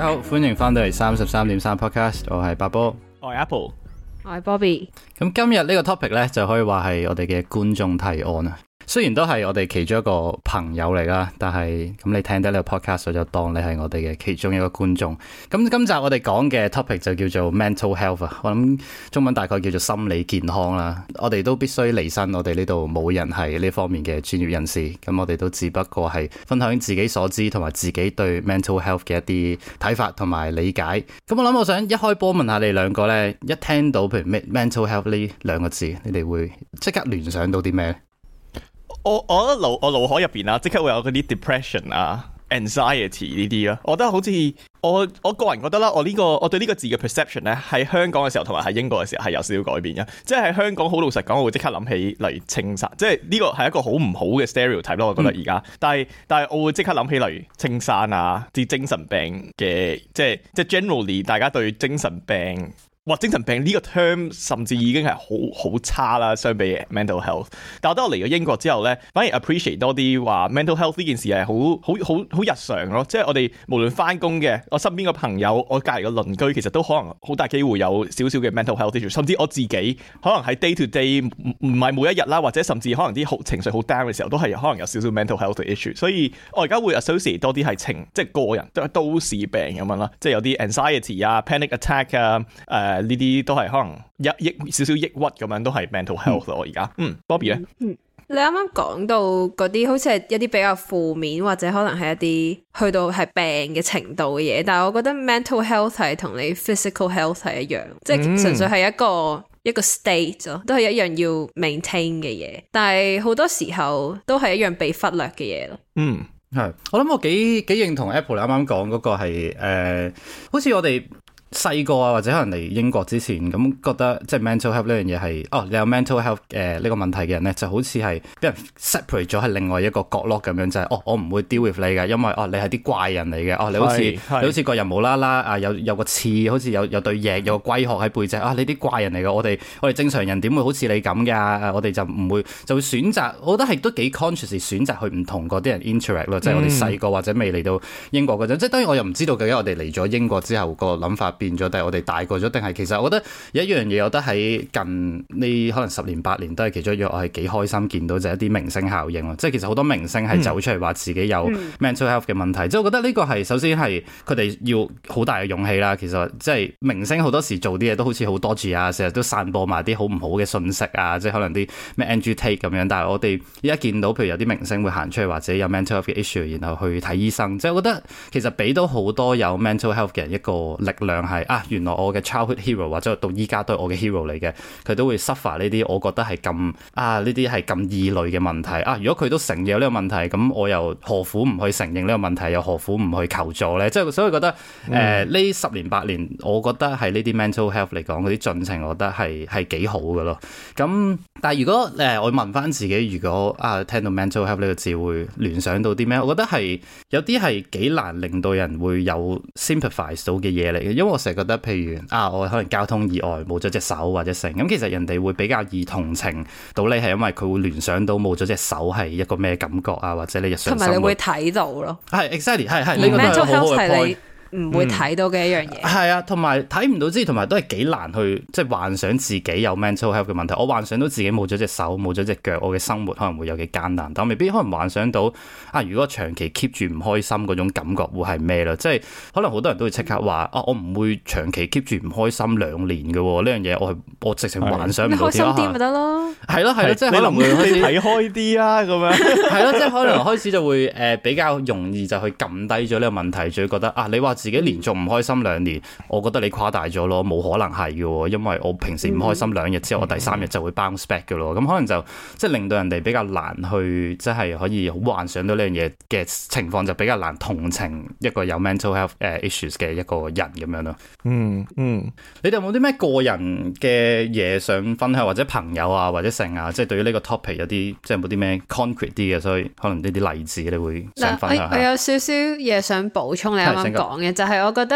家好，歡迎翻到嚟33.3 Podcast， 我係八波， 我係 Apple， 我係 Bobby。 咁今日呢個 topic 呢，就可以話係我哋嘅觀眾提案啊。雖然都係我哋其中一個朋友嚟啦，但係咁你聽得呢個 podcast 我就當你係我哋嘅其中一個觀眾。咁今集我哋講嘅 topic 就叫做 mental health 啊，我諗中文大概叫做心理健康啦。我哋都必須離身，我哋呢度冇人係呢方面嘅專業人士，咁我哋都只不過係分享自己所知同埋自己對 mental health 嘅一啲睇法同埋理解。咁我想一開波問下你兩個呢，一聽到譬如 mental health 呢兩個字，你哋會即刻聯想到啲咩？ 我覺得我腦海入邊啊，即刻會有嗰啲 depression 啊、anxiety 呢啲咯。我覺得好似我個人覺得啦，我對呢個字嘅 perception 咧，喺香港嘅時候同埋喺英國嘅時候係有少少改變嘅。即係喺香港好老實講，我會即刻諗起例如青山，即係呢個係一個好唔好嘅 stereotype 咯。我覺得而家，但係我會即刻諗起例如青山啊，啲精神病嘅，即係 generally 大家對精神病。哇！精神病呢個 term 甚至已經係好差啦，相比 mental health。但我覺得我嚟咗英國之後咧，反而 appreciate 多啲話 mental health 呢件事係好日常咯。即係我哋無論翻工嘅，我身邊嘅朋友，我隔離嘅鄰居，其實都可能好大機會有少少嘅 mental health issue。甚至我自己可能喺 day to day 唔係每一日啦，或者甚至可能啲情緒好 down 嘅時候，都係可能有少少 mental health issue。所以我而家會 associate 多啲係即係個人都市病咁樣啦，即係有啲 anxiety 啊、panic attack 啊、呢啲都係可能少少抑鬱咁樣，都係 mental health 咯。而家Bobby 咧， 你啱啱講到嗰啲好似係一啲比較負面或者可能係一啲去到係病嘅程度嘅嘢，但係我覺得 mental health 係同你 physical health 係一樣，即係純粹係一個 state 咯，都係一樣要 maintain 嘅嘢，但係好多時候都係一樣被忽略嘅嘢咯。 係，我諗我幾認同 Apple 你啱啱講嗰個係好似我哋細個啊，或者可能嚟英國之前咁覺得即係 mental health 呢樣嘢係你有 mental health 呢個問題嘅人咧，就好似係俾人 separate 咗喺另外一個角落咁樣，就係我唔會 deal with 你嘅，因為你係啲怪人嚟嘅，你好似個人無啦啦有個刺，好似有對翼，有個龜殼喺背脊你啲怪人嚟嘅，我哋正常人點會好似你咁㗎？我哋就唔會就會選擇，我覺得係都幾 conscious 選擇去唔同嗰啲人 interact 咯，即係我哋細個或者未嚟到英國嗰陣，即係當然我又唔知道究竟我哋嚟咗英國之後個諗法變咗，定係我哋大個咗，定係其實我覺得有一樣嘢，我覺得喺近呢可能10年8年都係其中一樣，我係幾開心見到就係一啲明星效應咯。即係其實好多明星係走出嚟話自己有 mental health 嘅問題，即係我覺得呢個係首先係佢哋要好大嘅勇氣啦。其實即係明星好多時做啲嘢都好似好多住啊，成日都散播埋啲好唔好嘅信息啊，即係可能啲咩 Andrew Tate 咁樣。但係我哋依家見到譬如有啲明星會行出嚟或者有 mental health 嘅 issue， 然後去睇醫生，即係我覺得其實俾到好多有 mental health 嘅人一個力量係原來我嘅 childhood hero 或者到依家都係我嘅 hero 嚟嘅，佢都會 suffer 呢啲我覺得係咁呢啲係咁異類嘅問題如果佢都承認有呢個問題，咁我又何苦唔去承認呢個問題，又何苦唔去求助呢？即係所以覺得呢10年8年，我覺得係呢啲 mental health 嚟講嗰啲進程，我覺得係幾好嘅咯。咁但係如果我問翻自己，如果聽到 mental health 呢個字會聯想到啲咩？我覺得係有啲係幾難令到人會有 sympathize 到嘅嘢嚟嘅，因為我成日覺得譬如我可能交通意外冇咗隻手或者成咁，其實人哋會比較易同情到你，係因為佢會聯想到冇咗隻手係一個咩感覺或者你日常生活同埋你會睇到咯， 係 exactly 係呢個都係好好嘅 point。 唔會睇到嘅一樣嘢， 係啊，同埋睇唔到之餘，同埋都係幾難去即係幻想自己有 mental health 嘅問題。我幻想到自己冇咗隻手、冇咗隻腳，我嘅生活可能會有幾艱難，但我未必可能幻想到如果長期 keep 住唔開心嗰種感覺會係咩啦？即係可能好多人都會即刻話我唔會長期 keep 住唔開心2年嘅呢樣嘢，我直情幻想唔到。 你開心啲咪得咯？ 係咯，即係可能會開始睇開啲咁樣。 係咯，即係可能開始就會比較容易就去撳低咗呢個問題，就會覺得你話自己連續唔開心2年，我覺得你誇大咗咯，冇可能係嘅，因為我平時唔開心2日之後，我第3日就會 bounce back 嘅咯。咁可能就即係令到人哋比較難去，即係可以好幻想到呢樣嘢嘅情況，就比較難同情一個有 mental health issues 嘅一個人咁樣咯。你哋有冇啲咩個人嘅嘢想分享，或者朋友或者成即係對於呢個 topic 有啲即係冇啲咩 concrete 啲嘅，所以可能呢啲例子你會想分享下。 我有少少嘢想補充你啱啱講嘅，就係我覺得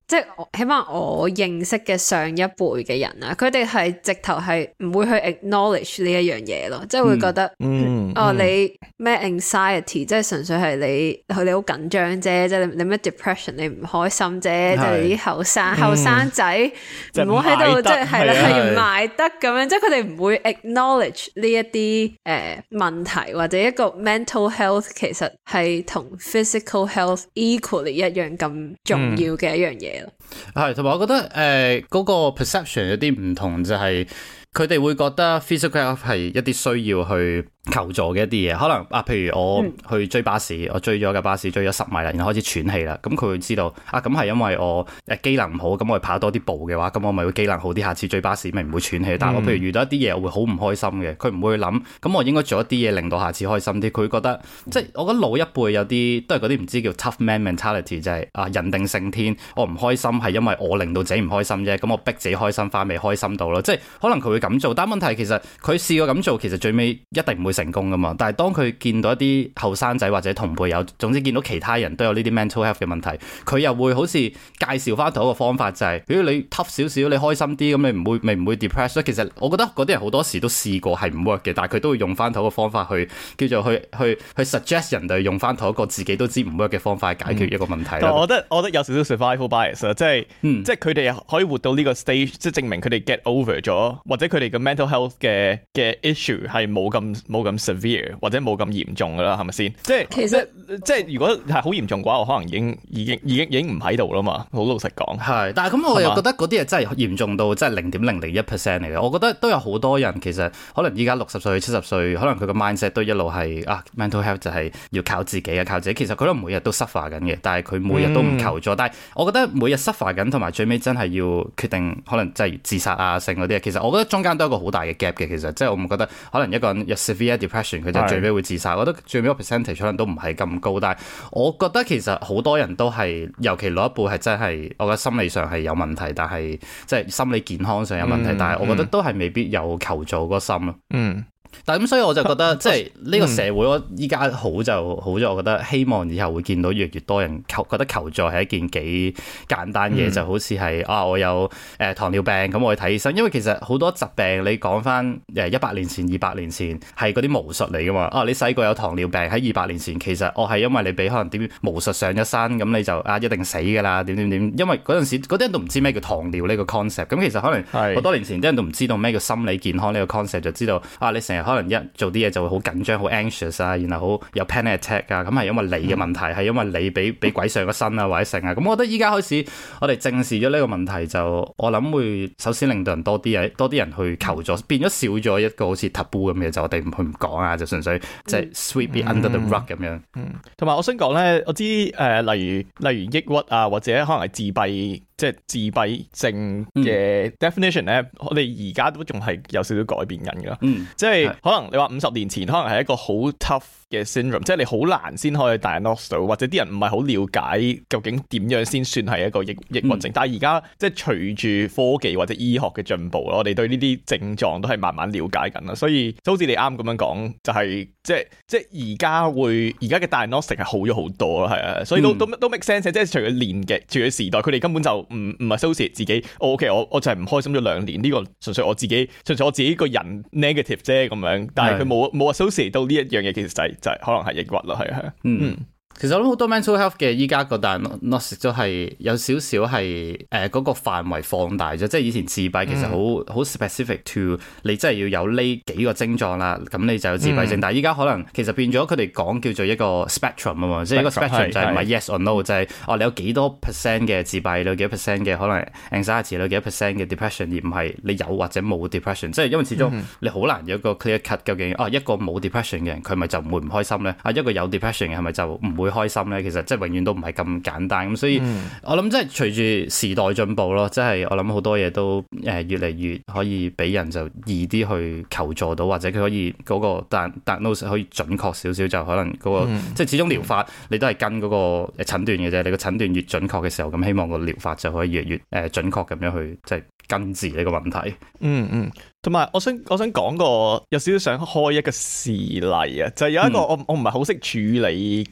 即係起碼我認識嘅上一輩嘅人啊，佢哋係直頭係唔會去 acknowledge 呢一樣嘢咯，即係會覺得你咩 anxiety， 即係純粹係你好緊張啫，即係你咩 depression， 你唔開心啫，即係你啲後生仔唔好喺度即係係啦，係唔賣得咁樣，即係佢哋唔會 acknowledge 呢一啲問題，或者一個 mental health 其實係同 physical health equally 一樣咁重要嘅一樣嘢咯。 係，同埋我覺得嗰個 perception 有啲唔同，就係佢哋會覺得 physical health 係一啲需要去求助嘅一啲嘢，可能譬如我去追巴士，我追咗架巴士追咗10米啦，然後開始喘氣啦，咁佢會知道咁係因為我機能唔好，咁我跑多啲步嘅話，咁我咪會機能好啲，下次追巴士咪唔會喘氣。但係我譬如遇到一啲嘢，我會好唔開心嘅，佢唔會諗，咁我應該做一啲嘢令到下次開心啲。佢會覺得即係我覺得老一輩有啲都係嗰啲唔知叫 tough man mentality， 就係人定勝天，我唔開心係因為我令到自己唔開心啫，咁我逼自己開心翻未開心到咯，即係可能佢會咁做，但係問題其實佢試過咁做，其實最尾一定唔會成功噶嘛。但係當佢見到一啲後生仔或者同輩有，總之見到其他人都有呢啲 mental health 嘅問題，佢又會好似介紹翻同一個方法，就係如果你 tough 少少，你開心啲，咁你唔會 depress。其實我覺得嗰啲人好多時都試過係唔 work 嘅，但係佢都會用翻同一個方法去叫做去 suggest 人哋用翻同一個自己都知唔 work 嘅方法去解決一個問題。 我覺得有少少 survival bias 即係佢哋可以活到呢個 stage， 即係證明佢哋 get over 咗，或者佢哋嘅 mental health 嘅 issue 係冇咁 severe，或者冇咁嚴重噶啦，係咪先？即係其實即係如果係好嚴重嘅話，我可能已經唔喺度啦嘛。好老實講， 係，但係咁我又覺得嗰啲嘢真係嚴重到真係0.001% 嚟嘅。我覺得都有好多人其實可能依家60歲、70歲，可能佢個 mindset 都一路係mental health 就係要靠自己啊，靠自己。其實佢都每日都 suffer 緊嘅，但係佢每日都唔求助。但係我覺得每日 suffer 緊，同埋最尾真係要決定可能真係自殺啊、性嗰啲。其實我覺得中間都有一個好大嘅 gap 嘅。其實即係我唔覺得可能一個人有 severe depression 佢就最尾會自殺。我覺得最尾個 percentage 可能都唔係咁高，但係我覺得其實好多人都係，尤其老一輩係真係，我覺得心理上係有問題，但係即係心理健康上有問題，但係我覺得都係未必有求助嗰個心咯。但係咁，所以我就覺得即係呢個社會，我依家好就好咗。我覺得希望以後會見到越嚟越多人覺得求助係一件幾簡單嘅，就好似係我有糖尿病咁，我去睇醫生。因為其實好多疾病你講翻100年前、200年前係嗰啲巫術嚟噶嘛。你細個有糖尿病喺200年前，其實我係因為你俾可能點巫術上一身，咁你就一定死噶啦，點。因為嗰陣時嗰啲人都唔知咩叫糖尿呢個 concept。咁其實可能好多年前啲人都唔知道咩叫心理健康呢個 concept，就知道你成日可能一做啲嘢就會好緊張、好 anxious 啊，然後好有 panic attack 啊，咁係因為你嘅問題，係因為你俾鬼上咗身啊，或者成啊。咁我覺得依家開始我哋正視咗呢個問題，就我諗會首先令到人多啲人去求助，變咗少咗一個好似 taboo 咁嘅，就我哋唔講啊，就純粹即係 sweep it under the rug 咁樣。 同埋我想講咧，我知例如抑鬱啊，或者可能係自閉。即係自閉症嘅 definition 咧，我哋而家都仲係有少少改變緊噶。即係可能你話50年前可能係一個好 tough 嘅 syndrome，即係你好難先可以 diagnose 到，或者啲人唔係好了解究竟點樣先算係一個抑鬱症。但係而家即係隨住科技或者醫學嘅進步，我哋對呢啲症狀都係慢慢了解緊啦。所以就好似你啱咁樣講，就係即係而家嘅 diagnostic 係好咗好多啦，係啊，所以都 make sense。即係隨住年紀、隨住時代，佢哋根本就唔係 associate 自己，OK， 我就係唔開心咗2年，呢個純粹我自己個人 negative 啫咁樣，但係佢冇 associate 到呢一樣嘢，其實就係可能係抑鬱啦，係啊， 其實我諗好多 mental health 嘅依家個 diagnosis 都係有少少係嗰個範圍放大咗，即係以前自閉其實好 specific to 你真係要有呢幾個症狀啦，咁你就有自閉症。但係依家可能其實變咗佢哋講叫做一個 spectrum 啊嘛，即係一個 spectrum 就係唔係 yes or no，就係你有幾多 percent 嘅自閉，你有幾多 percent 嘅可能 anxiety，你有幾多 percent 嘅 depression，而唔係你有或者冇 depression。即係因為始終你好難有一個 clear cut，究竟一個冇 depression 嘅人佢咪就唔會唔開心咧？一個有 depression 嘅係咪就唔會開心咧？其實即係永遠都唔係咁簡單，咁所以我諗即係隨住時代進步咯，即係我諗好多嘢都越嚟越可以俾人就易啲去求助到，或者佢可以嗰個diagnose可以準確少少，就可能嗰個即係始終療法你都係跟嗰個診斷嘅啫，你個診斷越準確嘅時候，咁希望個療法就可以越準確咁樣去即係根治呢個問題。 同埋我想講個有少少想開一個事例啊，就係有一個我唔係好識處理嘅狀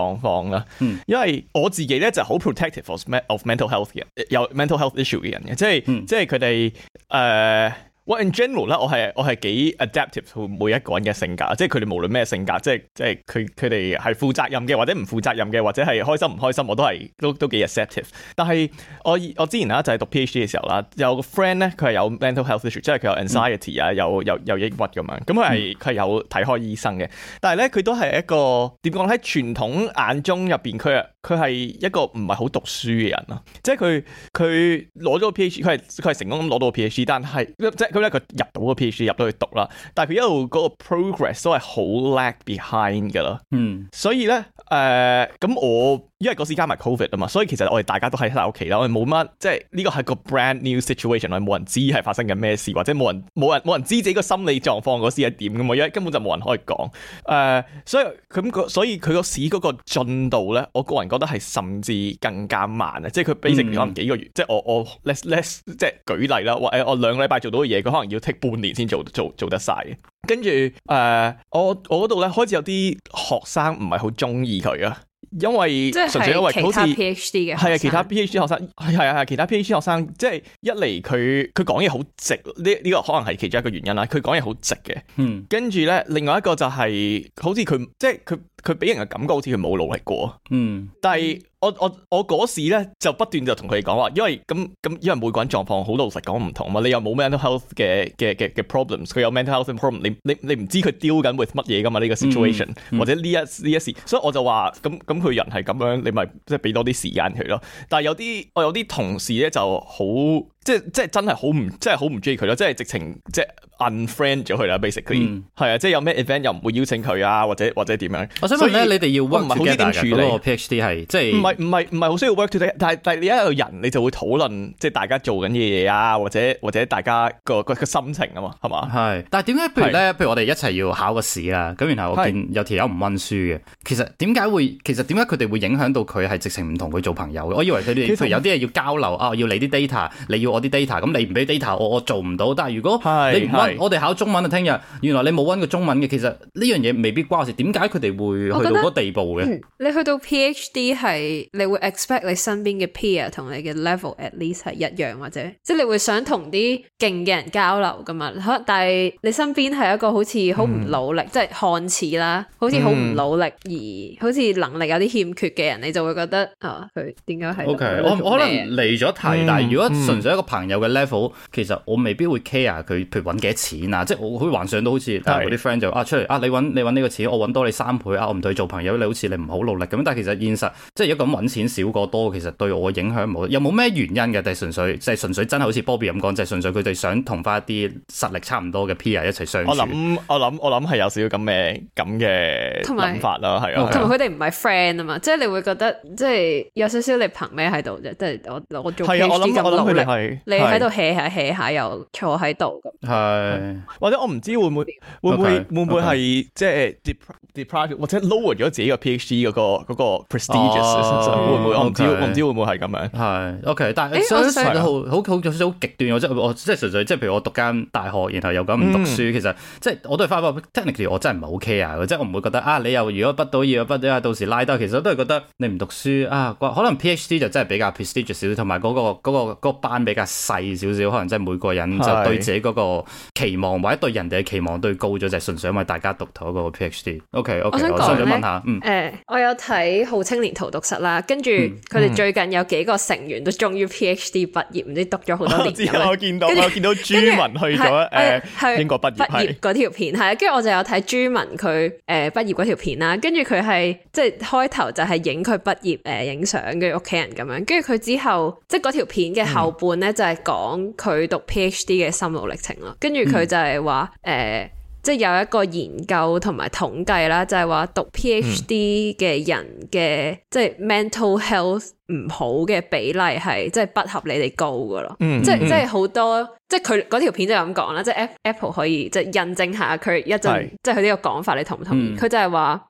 狀況啦。因為我自己咧就好 protective of mental health 嘅，有 mental health issue 嘅人嘅，即係佢哋in general 咧，我係幾 adaptive to 每一個人嘅性格，即係佢哋無論咩性格，即係佢哋係負責任嘅，或者唔負責任嘅，或者係開心唔開心，我都幾 acceptive。但係我之前啦就係讀 PhD 嘅時候啦，有個 friend 咧，佢係有 mental health issue，即係佢有 anxiety 啊，有抑鬱咁樣，咁佢係有睇開醫生嘅。但係咧佢都係一個點講，喺傳統眼中入邊，佢係一個唔係好讀書嘅人咯。即係佢攞咗個 PhD，佢係成功咁攞到個 PhD， 但係即係佢入到個 PhD 入到去讀啦，但係佢一路嗰個 progress 都係好 lag behind 噶啦。所以咧咁我因為嗰時加埋 COVID 啊嘛，所以其實我哋大家都喺晒屋企啦，我哋冇乜即係呢個係個 brand new situation， 我哋冇人知係發生緊咩事，或者冇人知自己個心理狀況嗰時係點噶嘛，因為根本就冇人可以講。所以佢個市嗰個進度咧，我個人覺得係甚至更加慢啊！即係佢 basically 可能幾個月，即係我 let's 即係舉例啦，我2個禮拜做到嘅嘢，佢可能要 take 半年先做得晒嘅。跟住我嗰度咧開始有啲學生唔係好中意佢啊。因為純粹因為好似 PhD 嘅係啊，其他 PhD 學生係其他 PhD 學生，即係一嚟佢講嘢好直，呢個可能係其中一個原因啦。佢講嘢好直嘅，跟住咧另外一個就係好似佢即係佢俾人嘅感覺好似佢冇努力過，但係我嗰時咧就不斷就同佢哋講話，因為因為每個人狀況好老實講唔同嘛，你又冇 mental health 嘅 problems， 佢有 mental health problem， 你唔知佢 deal 緊 with 乜嘢噶嘛呢個 situation，或者呢一時，所以我就話咁佢人係咁樣，你咪即係俾多啲時間佢咯。但係我有啲同事咧就好即係真係好唔中意佢咯，即係直情即係 unfriend 咗佢啦 basically， 係啊，即係有咩 event 又唔會邀請佢啊，或者點樣。我想問咧， 你哋要 work together 處理嗰個 PhD 係即係唔係好需要 work together， 但係你一個人你就會討論即係大家做緊嘅嘢啊，或者大家個心情啊嘛，係嘛？係。 但係點解譬如我哋一齊要考個試啦，咁然後我見有條友唔溫書嘅，其實點解佢哋會影響到佢係直情唔同佢做朋友嘅？我以為佢哋譬如有啲嘢要交流啊，要你啲 data， 你要我啲 data， 咁你唔俾 data， 我做唔到。但係如果你唔溫，我哋考中文啊，聽日原來你冇溫過中文嘅，其實呢樣嘢未必關事。點解佢哋會去到嗰個地步嘅？ 你去到 PhD 係你會 expect 你身邊嘅 peer 同你嘅 level at least 係一樣，或者即係你會想同啲勁嘅人交流噶嘛？但係你身邊係一個好似好唔努力，即係看似啦，好似好唔努力而好似能力有啲欠缺嘅人，你就會覺得佢點解係 ？OK， 我可能離咗題，但係如果純粹一個朋友嘅 level，其實我未必會 care 佢，譬如揾幾多錢啊，即係我可以幻想到好似我啲 friend 就出嚟你揾呢個錢，我揾多你3倍啊，我唔同你做朋友，你好似你唔好努力咁。但係其實現實即係如果咁揾錢少過多，其實對我影響冇，有冇咩原因嘅？但係純粹真係好似 Bobby 咁講，就係純粹佢哋想同翻一啲實力差唔多嘅 peer 一齊相處。我諗係有少少咁嘅諗法啦，係啊。 同埋佢哋唔係 friend 啊嘛，即係你會覺得即係有少少你憑咩喺度啫？即係我做 PhD 咁努力，你喺度 hea 下又坐喺度咁。 係或者我唔知會唔會係即係 deprive 或者 lower 咗自己個 PhD 嗰個 prestigious， 會唔會？我唔知會唔會係咁樣。 係 OK， 但係相對好極端。我即係純粹即係譬如我讀間大學，然後又咁唔讀書，其實即係我都係翻返 technically， 我真係唔係好 care 嘅，即係我唔會覺得你又如果畢到業到時拉低，其實我都係覺得你唔讀書可能 PhD 就真係比較 prestigious 少少，同埋嗰個班比較細少少，可能即係每個人就對自己嗰個期望或者對人哋嘅期望都高咗，就係純粹因為大家讀同一個 PhD。OK， 我想問下， 我有睇《好青年荼毒室》啦，跟住佢哋最近有幾個成員都終於 PhD 畢業，唔知讀咗好多年。 我見到朱文去咗英國畢業嗰條片係，跟住我就有睇朱文佢畢業嗰條片啦，跟住佢係即係開頭就係影佢畢業影相嘅屋企人咁樣，跟住佢之後即係嗰條片嘅後半咧就係講佢讀 PhD 嘅心路歷程咯，跟住佢就係話即係有一個研究同埋統計啦，就係話讀 PhD 嘅人嘅即係 mental health 唔好嘅比例係即係不合理地高噶咯，即係好多即係佢嗰條片就咁講啦，即係 Apple 可以即係印證下佢一陣即係佢呢個講法，你同唔同意？佢就係話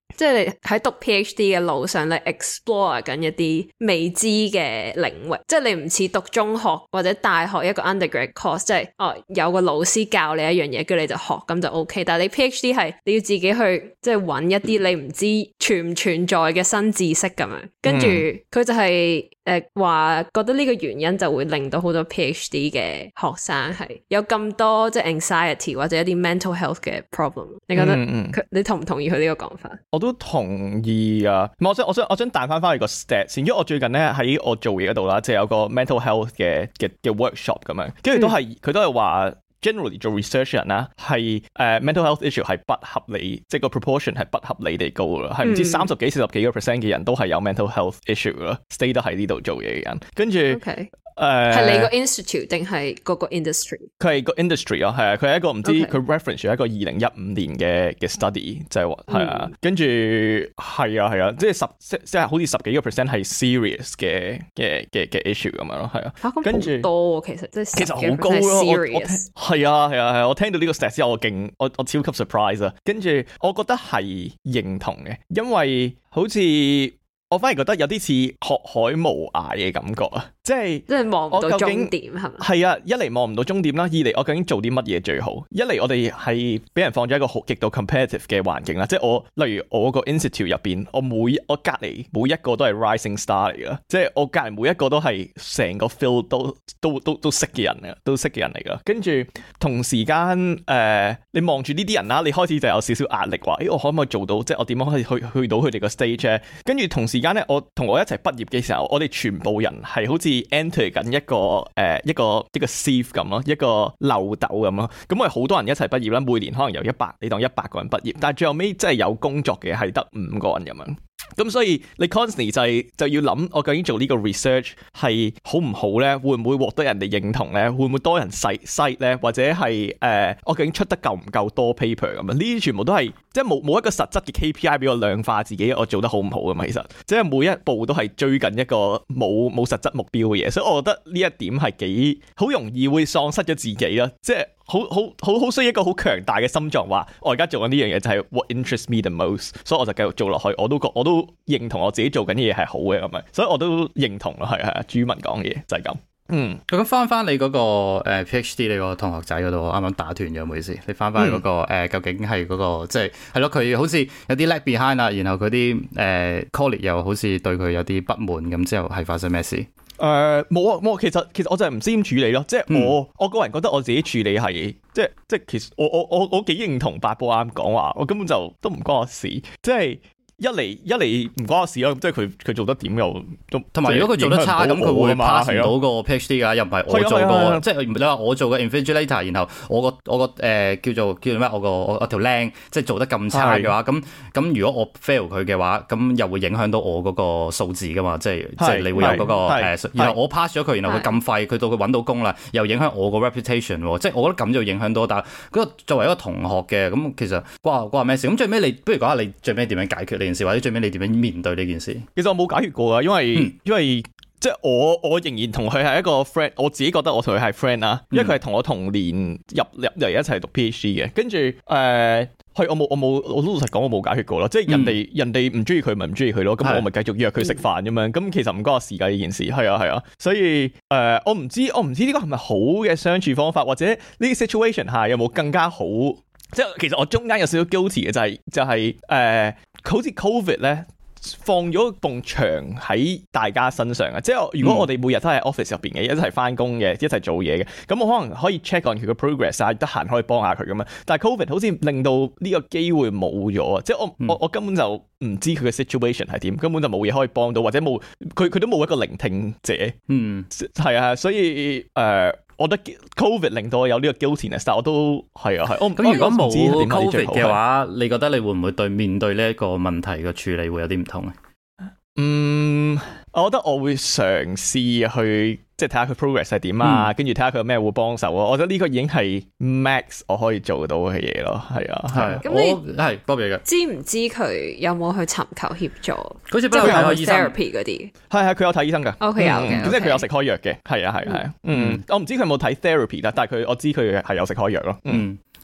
即係你喺讀 PhD 嘅路上，你 explore 緊一啲未知嘅領域，即係你唔似讀中學或者大學一個 undergrad course， 即係有個老師教你一樣嘢，跟住你就學咁就 OK。但係你 PhD 係你要自己去即係揾一啲你唔知存唔存在嘅新知識咁樣，跟住佢就係話覺得呢個原因就會令到好多 PhD 嘅學生係有咁多即係 anxiety 或者一啲 mental health 嘅 problem。你覺得你同唔同意佢呢個講法？ 我都同意啊！我想彈翻去個 stats 先，因為我最近咧喺我做嘢嗰度啦，即係有個 mental health 嘅 workshop 咁樣，跟住佢都係話 generally 做 research 人啦，係mental health issue 係不合理，即係個 proportion 係不合理地高啦，係唔知30幾40幾個% 嘅人都係有 mental health issue 啦，stay 得喺呢度做嘢嘅人，跟住。 Okay. 係你個 institute 定係嗰個 industry？ 佢係個 industry 咯，係啊，佢係一個唔知佢 reference 咗一個2015年嘅 study， 就係話係啊，跟住係啊，即係好似10幾個% 係 serious 嘅 issue 咁樣咯，係啊，跟住多其實即係其實好高咯，係啊，我聽到呢個 stat 之後我超級 surprise 啊，跟住我覺得係認同嘅，因為好似我反而覺得有啲似學海無涯嘅感覺啊！即係望唔到終點係咪？係啊，一嚟望唔到終點啦，二嚟我究竟做啲乜嘢最好？一嚟我哋係俾人放咗一個好極度 competitive 嘅環境啦，即係例如我個 institute 入邊，我隔離每一個都係 rising star 嚟噶，即係我隔離每一個都係成個 field 都識嘅人啊，都識嘅人嚟噶。跟住同時間你望住呢啲人啦，你開始就有少少壓力話，我可唔可以做到？即係我點樣可以去到佢哋個 stage 咧？跟住同時間咧，我一齊畢業嘅時候，我哋全部人係好似 enter 緊一個 sieve 咁咯，一個漏斗咁咯。咁我哋好多人一齊畢業啦，每年可能有你當100個人畢業，但係最後尾真係有工作嘅係得5個人咁樣。咁所以你 constantly 就要諗，我究竟做呢個 research 係好唔好咧？會唔會獲得人哋認同咧？會唔會多人cite咧？或者係我究竟出得夠唔夠多 paper 咁啊？呢啲全部都係即係冇一個實質嘅 KPI 俾我量化自己我做得好唔好噶嘛？其實即係每一步都係追緊一個冇實質目標嘅嘢，所以我覺得呢一點係幾好容易會喪失咗自己啦，即係。好需要一個好強大嘅心臟，話我而家做緊呢樣嘢就係 what interests me the most， 所以我就繼續做落去。我都認同我自己做緊啲嘢係好嘅咁樣，所以我都認同咯，係啊，朱文講嘅嘢就係咁。 咁翻你嗰個PhD 你個同學仔嗰度，我啱啱打斷咗，唔好意思。你翻去嗰個究竟係嗰個即係咯，佢好似有啲 lag behind 啦，然後佢啲colleague 又好似對佢有啲不滿，咁之後係發生咩事？ 冇啊，其實我就係唔知點處理咯，即係我個人覺得我自己處理係即係其實我幾認同八波啱講話，我根本就都唔關我事，即係一嚟唔關我事咯，即係佢做得點又都同埋如果佢做得差咁佢會 pass 唔到個 PhD 噶，又唔係我做過，即係你話我做個 invigilator， 然後我個叫做咩？我條靚即係做得咁差嘅話，咁如果我 fail 佢嘅話，咁又會影響到我嗰個數字噶嘛，即係你會有嗰個然後我 pass 咗佢，然後佢咁廢，佢到佢揾到工啦，又影響我個 reputation， 即係我覺得咁就影響到，但係嗰個作為一個同學嘅，咁其實關咩事？咁最尾你不如講下你最尾點樣解決呢件事，或者最尾你點樣面對呢件事？其實我冇解決過啊，因為即係我仍然同佢係一個 friend， 我自己覺得我同佢係 friend 啦，因為佢係同我同年入嚟一齊讀 PhD 嘅，跟住我老實講我冇解決過咯，即係人哋唔中意佢咪唔中意佢咯，咁我咪繼續約佢食飯咁樣，咁其實唔關我事㗎呢件事，係啊，所以我唔知呢個係咪好嘅相處方法，或者呢啲 situation 下有冇更加好？即係其實我中間有少少 guilty 嘅就係好似 COVID 咧放咗埲牆喺大家身上啊！即係如果我哋每日都喺 office 入邊嘅，一齊翻工嘅，一齊做嘢嘅，咁我可能可以 check on 佢嘅 progress 啊，得閒可以幫下佢咁樣。但係 COVID 好似令到呢個機會冇咗啊！即係我根本就唔知佢嘅 situation 係點，根本就冇嘢可以幫到，或者冇佢都冇一個聆聽者。係啊，所以我覺得 COVID 令到我有呢個 guiltiness， 但我都係啊。 咁如果冇 COVID 嘅話，你覺得你會唔會面對呢一個問題嘅處理會有啲唔同咧？ 我覺得我會嘗試去即係睇下佢 progress 係點啊，跟住睇下佢有咩會幫手啊。我覺得呢個已經係 max 我可以做到嘅嘢咯，係啊。係咁你係多謝嘅。知唔知佢有冇去尋求協助？ 好似不嬲睇醫生 therapy 嗰啲。 係佢有睇醫生㗎。 OK 有嘅， 即係佢有食開藥嘅。係啊。我唔知佢有冇睇 therapy 啦，但係我知佢係有食開藥咯。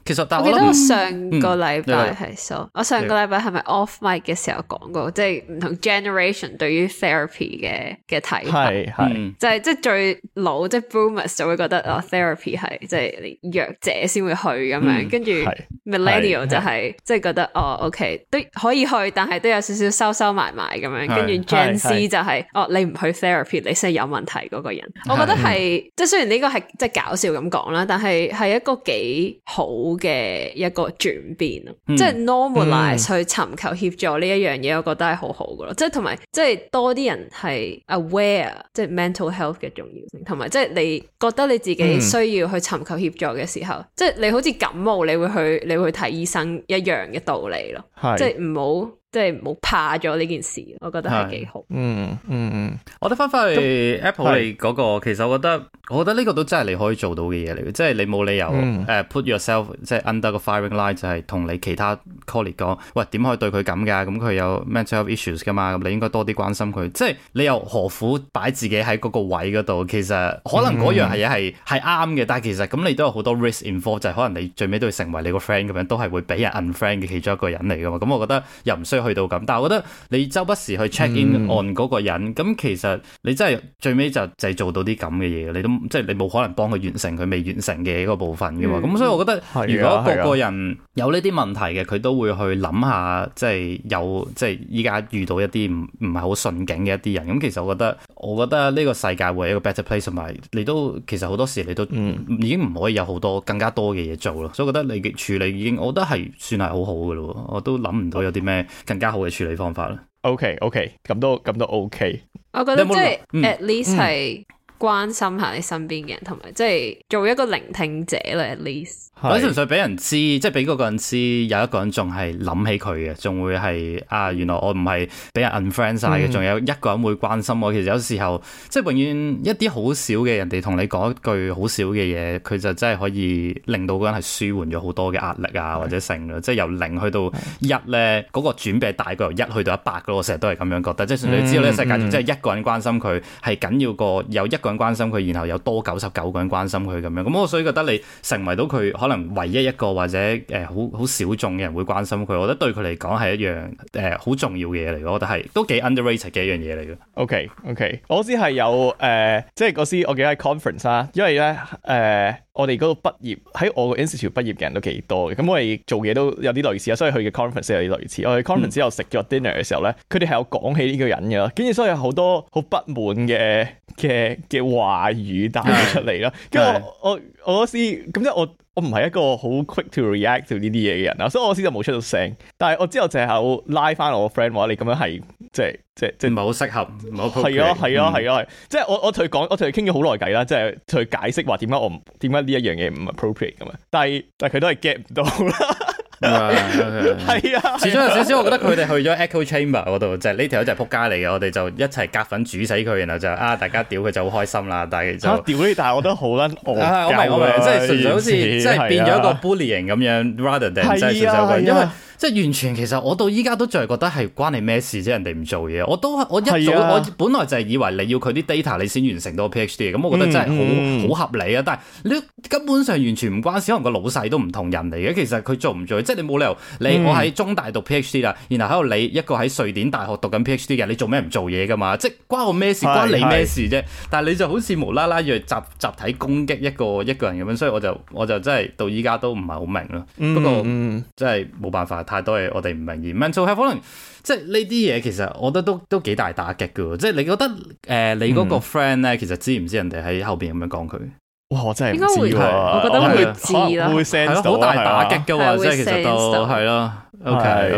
其實但我記得係我諗我上個禮拜嗯係so，我上個禮拜係咪 off mic 嘅時候講過，即係唔同 generation 對於 therapy 嘅睇法，就係即係最老即係 boomers 就會覺得therapy 係即係你弱者先會去咁樣，跟住 millennial 就係即係覺得OK 都可以去，但係都有少少收埋咁樣，跟住 Gen Z 就係你唔去 therapy 你先係有問題嗰個人。我覺得係即係雖然呢個係即係搞笑咁講啦，但係一個幾好嘅一個轉變咯，即係 normalize 去尋求協助呢一樣嘢，我覺得係好好噶咯。即係同埋即係多啲人係 aware 即係 mental health 嘅重要性，同埋即係你覺得你自己需要去尋求協助嘅時候，即係你好似感冒你會去睇醫生一樣嘅道理咯，即係唔好怕咗呢件事，我覺得係幾好。 我哋翻去 Apple 你嗰個，其實我覺得呢個都真係你可以做到嘅嘢嚟嘅，即係你冇理由put yourself 即係 under 個 firing line，就係同你其他 colleague 講，喂，點可以對佢咁㗎？咁佢有 mental health issues 㗎嘛，咁你應該多啲關心佢。即係你又何苦擺自己喺嗰個位嗰度？其實可能嗰樣嘢係啱嘅，但係其實咁你都有好多 risk involved，就係可能你最尾都會成為你個 friend 咁樣，都係會俾人 unfriend 嘅其中一個人嚟㗎嘛。咁我覺得又唔需要去到咁，但係我覺得你周不時去 check in on 嗰個人，咁其實你真係最尾就係做到啲咁嘅嘢，你都即係你冇可能幫佢完成佢未完成嘅一個部分嘅嘛。咁所以我覺得如果個個人有呢啲問題嘅，佢都會去諗下，即係有即係依家遇到一啲唔係好順境嘅一啲人。咁其實我覺得呢個世界會係一個 better place，同埋你都其實好多時你都已經唔可以有好多更加多嘅嘢做咯。所以我覺得你嘅處理已經，我覺得係算係好好嘅咯。我都諗唔到有啲咩更加好嘅處理方法啦。 OK，咁都 OK。 我覺得即係 at least 係關心下你身邊嘅人，同埋即係做一個聆聽者啦。at least 我純粹俾人知，即係俾嗰個人知，有一個人仲係諗起佢嘅，仲會係原來我唔係俾人 unfriend 晒嘅，仲有一個人會關心我。其實有時候即係永遠一啲好少嘅人哋同你講一句好少嘅嘢，佢就真係可以令到嗰個人係舒緩咗好多嘅壓力啊，或者成啦。即係由0去到1咧，嗰個轉變大過由1去到100嘅。我成日都係咁樣覺得，即係純粹知道呢個世界上即係一個人關心佢係緊要過有一個人關心佢，然後有多99個人關心佢咁樣。咁我所以覺得你成為到佢可能唯一一個或者好小眾嘅人會關心佢，我覺得對佢嚟講係一樣好重要嘅嘢嚟，我覺得係都幾 underrated 嘅一樣嘢嚟嘅。 OK，我知係有即係嗰時我記得係 conference 啦，因為咧我哋嗰度畢業喺我個 institute 畢業嘅人都幾多嘅，咁我哋做嘢都有啲類似啊，所以去嘅 conference 有啲類似。我哋 conference 之後食咗 dinner 嘅時候咧，佢哋係有講起呢個人嘅，跟住所以有好多好不滿嘅話語帶出嚟啦。跟住我嗰時咁即係我唔係一個好 quick to react to 呢啲嘢嘅人啦，所以我嗰時就冇出到聲。但係我之後就係拉翻我個 friend 話你咁樣係即係唔係好適合，唔好係啊，即係我同佢傾咗好耐偈啦，即係同佢解釋話點解呢一樣嘢唔 appropriate 咁啊，但係佢都係 get 唔到啦。係啊， 始終有少少，我覺得佢哋去咗 echo chamber 嗰度，就係呢條友就係仆街嚟嘅，我哋就一齊夾粉煮死佢，然後就大家屌佢就好開心啦。但係就屌你，但係我覺得好撚我明，即係純粹好似即係變咗一個 bullying 咁樣 rather than 即係純粹因為。即係完全，其實我到依家都仲係覺得係關你咩事啫？人哋唔做嘢，我一早我本來就係以為你要佢啲 data 你先完成到 PhD 咁，我覺得真係好合理啊！但係你根本上完全唔關事，可能個老細都唔同人嚟嘅。其實佢做唔做，即係你冇理由我喺中大讀 PhD 啦，然後喺度你一個喺瑞典大學讀緊 PhD 嘅，你做咩唔做嘢噶嘛？即係關我咩事？關你咩事啫？但係你就好似無啦啦要集體攻擊一個人咁樣，所以我就真係到依家都唔係好明咯。不過真係冇辦法。太多嘢我哋唔明，而 mental health 可能即係呢啲嘢，其實我覺得都幾大打擊㗎。即係你覺得你嗰個 friend 咧，其實知唔知人哋喺後邊咁樣講佢？ 哇！我真係唔知喎， 我覺得會知啦， 會 sense 到好大打擊㗎喎，即係其實都係咯。OK，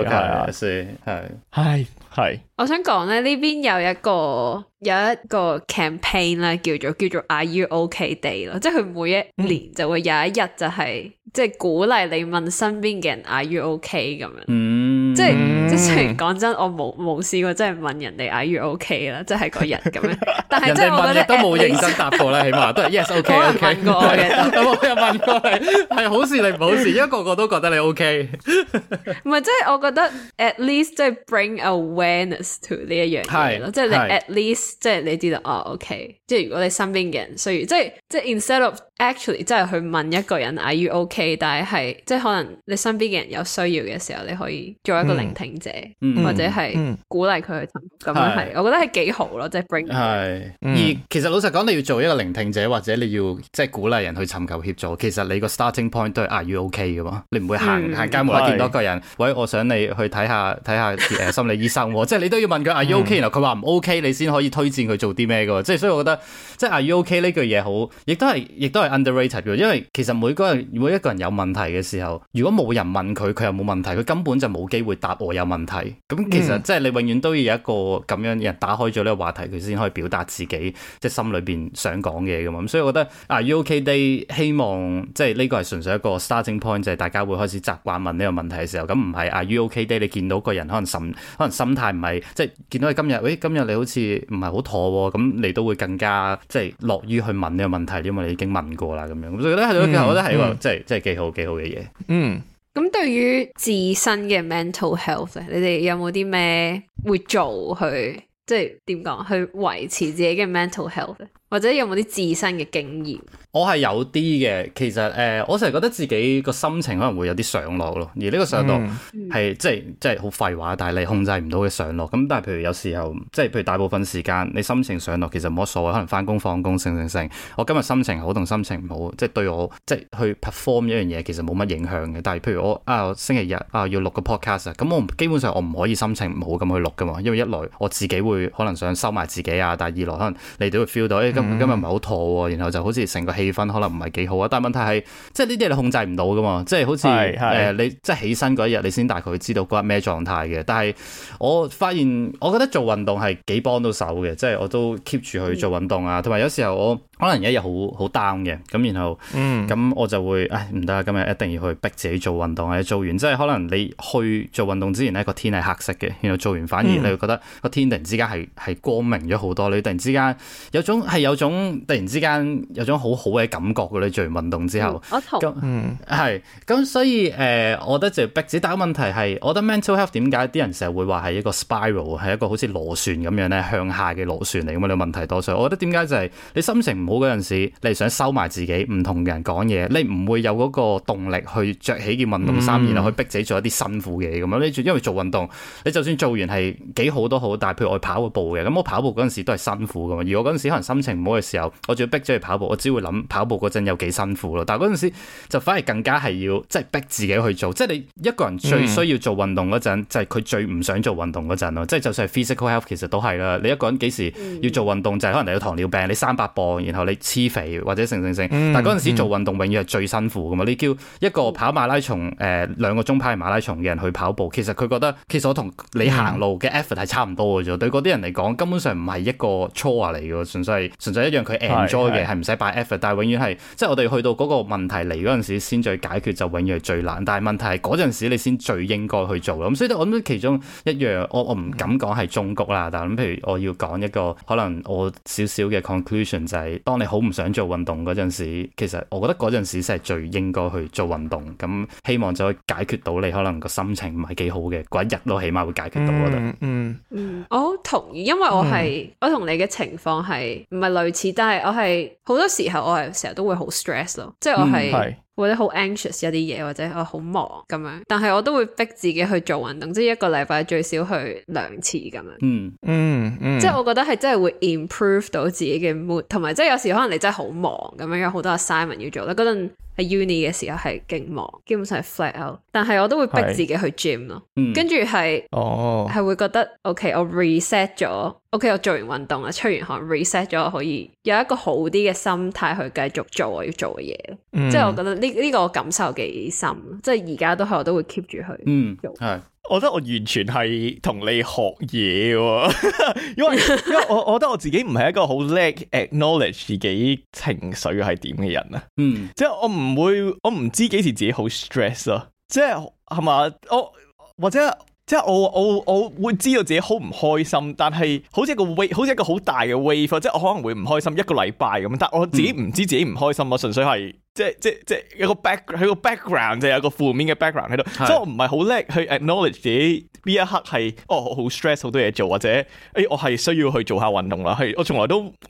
係。 我想講咧，呢邊有一個 campaign 咧，叫做 Are You OK Day 咯，即係佢每一年就會有一日就係即係鼓勵你問身邊嘅人 Are You OK 咁樣，即係雖然講真，我冇試過真係問人哋 Are You OK 啦，即係嗰日咁樣，但係即係我覺得都冇認真答過啦，起碼都係 Yes OK。 我問過我嘅， 我又問過你係好事定唔好事，因為個個都覺得你 OK。 唔係，即係我覺得 at least 即係 bring awareness to 呢一樣嘢咯，即係你 at least 即係你知道OK，即係如果你身邊嘅人需要，即係 instead of actually 真係去問一個人 Are you OK？ 但係即係可能你身邊嘅人有需要嘅時候，你可以做一個聆聽者，或者係鼓勵佢去尋，咁樣係，我覺得係幾好咯，即係 bring。 係，而其實老實講，你要做一個聆聽者，或者你要即係鼓勵人去尋求協助，其實你個 starting point 都係 Are you OK 噶嘛？你唔會行街無啦啦見到一個人，喂，我想你去睇下心理醫生，即係你都要問佢 Are you OK？然後佢話唔 OK，你先可以推薦佢做啲咩噶。即係所以我覺得，即係 Are you OK 呢句嘢好，亦都係 underrated 嘅，因為其實每一個人有問題嘅時候，如果冇人問佢，佢又冇問題，佢根本就冇機會答我有問題。咁其實即係你永遠都要有一個咁樣人打開咗呢個話題，佢先可以表達自己即係心裏邊想講嘅嘢噶嘛。咁所以我覺得 Are you OK Day 希望即係呢個係純粹一個 starting point，就係大家會開始習慣問呢個問題嘅時候，咁唔係 Are you OK Day 你見到個人可能心態唔係即係見到你今日你好似唔係好妥喎，咁你都會更加即係樂於去問呢個問題，因為你已經問過啦咁樣。咁所以我覺得係一個即係幾好嘅嘢。 咁對於自身嘅 mental health 咧，你哋有冇啲咩會做去即係點講去維持自己嘅 mental health，或者有冇啲自身嘅經驗？ 我係有啲嘅，其實我成日覺得自己個心情可能會有啲上落咯，而呢個上落係即係好廢話，但係你控制唔到嘅上落。咁但係譬如有時候，即係譬如大部分時間你心情上落，其實冇乜所謂，可能翻工放工成。我今日心情好同心情唔好，即係對我即係去 perform 一樣嘢，其實冇乜影響嘅。但係譬如我星期日要錄個 podcast，咁我基本上我唔可以心情唔好咁去錄噶嘛，因為一來我自己會可能想收埋自己啊，但係二來可能你都會 feel 到今日唔係好妥喎，然後就好似成個氣氛可能唔係幾好啊。但係問題係，即係呢啲你控制唔到噶嘛，即係好似你即係起身嗰一日，你先大概知道嗰日咩狀態嘅。但係我發現，我覺得做運動係幾幫到手嘅，即係我都 keep 住去做運動啊。同埋有時候我可能一日好 down 嘅，咁然後咁我就會唔得啊，今日一定要去逼自己做運動，或者做完即係可能你去做運動之前呢個天係黑色嘅，然後做完反而你會覺得個天突然之間係光明咗好多，你突然之間有種突然之間有種好好嘅感覺嘅，你做完運動之後， 我同咁所以我覺得就逼自己。但係問題係，我覺得 mental health 點解啲人成日會話係一個 spiral， 係一個好似螺旋咁樣咧向下嘅螺旋嚟咁啊？你問題多，所以我覺得點解就係你心情唔好嗰陣時，你想收埋自己，唔同人講嘢，你唔會有嗰個動力去着起件運動衫，然後去逼自己做一啲辛苦嘅嘢咁樣。你因為做運動，你就算做完係幾好都好，但係譬如我跑個步嘅，咁我跑步嗰陣時都係辛苦噶嘛。而我嗰陣時可能心情唔好嘅時候，我仲要逼咗去跑步，我只會諗跑步嗰陣有幾辛苦咯。但係嗰陣時就反而更加係要即係逼自己去做，即係你一個人最需要做運動嗰陣，就係佢最唔想做運動嗰陣咯。即係就算係 physical health 其實都係啦。你一個人幾時要做運動，就係可能你有糖尿病，你300磅，然後你黐肥或者成。但係嗰陣時做運動永遠係最辛苦噶嘛。你叫一個跑馬拉松2個鐘跑馬拉松嘅人去跑步，其實佢覺得其實我同你行路嘅 effort 係差唔多嘅啫。對嗰啲人嚟講，根本上唔係一個 chore 嚟嘅，純粹一樣佢 enjoy 嘅，係唔使擺 effort。但係永遠係即係我哋去到嗰個問題嚟嗰陣時先再解決，就永遠係最難。但係問題係嗰陣時你先最應該去做咯。咁所以我諗其中一樣，我唔敢講係忠告啦。但係譬如我要講一個可能我少少嘅 conclusion 就係，當你好唔想做運動嗰陣時，其實我覺得嗰陣時先係最應該去做運動。咁希望就可以解決到你可能個心情唔係幾好嘅嗰一日咯，起碼會解決到。我覺得我好同意，因為我同你嘅情況係唔係類似，但係我係好多時候我係成日都會好 stress 咯，即係我係或者好 anxious 一啲嘢，或者我好忙咁樣，但係我都會逼自己去做運動，即係一個禮拜最少去2次咁樣。即係我覺得係真係會 improve 到自己嘅 mood， 同埋即係有時可能你真係好忙咁樣，有好多 assignment 要做啦。嗰陣喺 uni 嘅時候係勁忙，基本上係 flat out， 但係我都會逼自己去 gym 咯。跟住係會覺得 OK， 我 reset 咗 OK， 我做完運動啦，出完汗 reset 咗，我可以有一個好啲嘅心態去繼續做我要做嘅嘢。即係我覺得呢個感受幾深，即係而家我都會 keep 住去做。 我覺得我完全係同你學嘢喎，因為我覺得我自己唔係一個好叻 acknowledge 自己情緒係點嘅人啊。即係我唔知幾時自己好 stress 咯，即係嘛，或者即係我會知道自己好唔開心，但係好似一個 wave， 好似一個好大嘅 wave， 即係我可能會唔開心1個禮拜咁，但係我自己唔知自己唔開心，我純粹係即係有個 background 就有個負面嘅 background 喺度，所以我唔係好叻去 acknowledge 自己呢一刻係好 stress 好多嘢做，或者我係需要去做下運動啦。係我從來都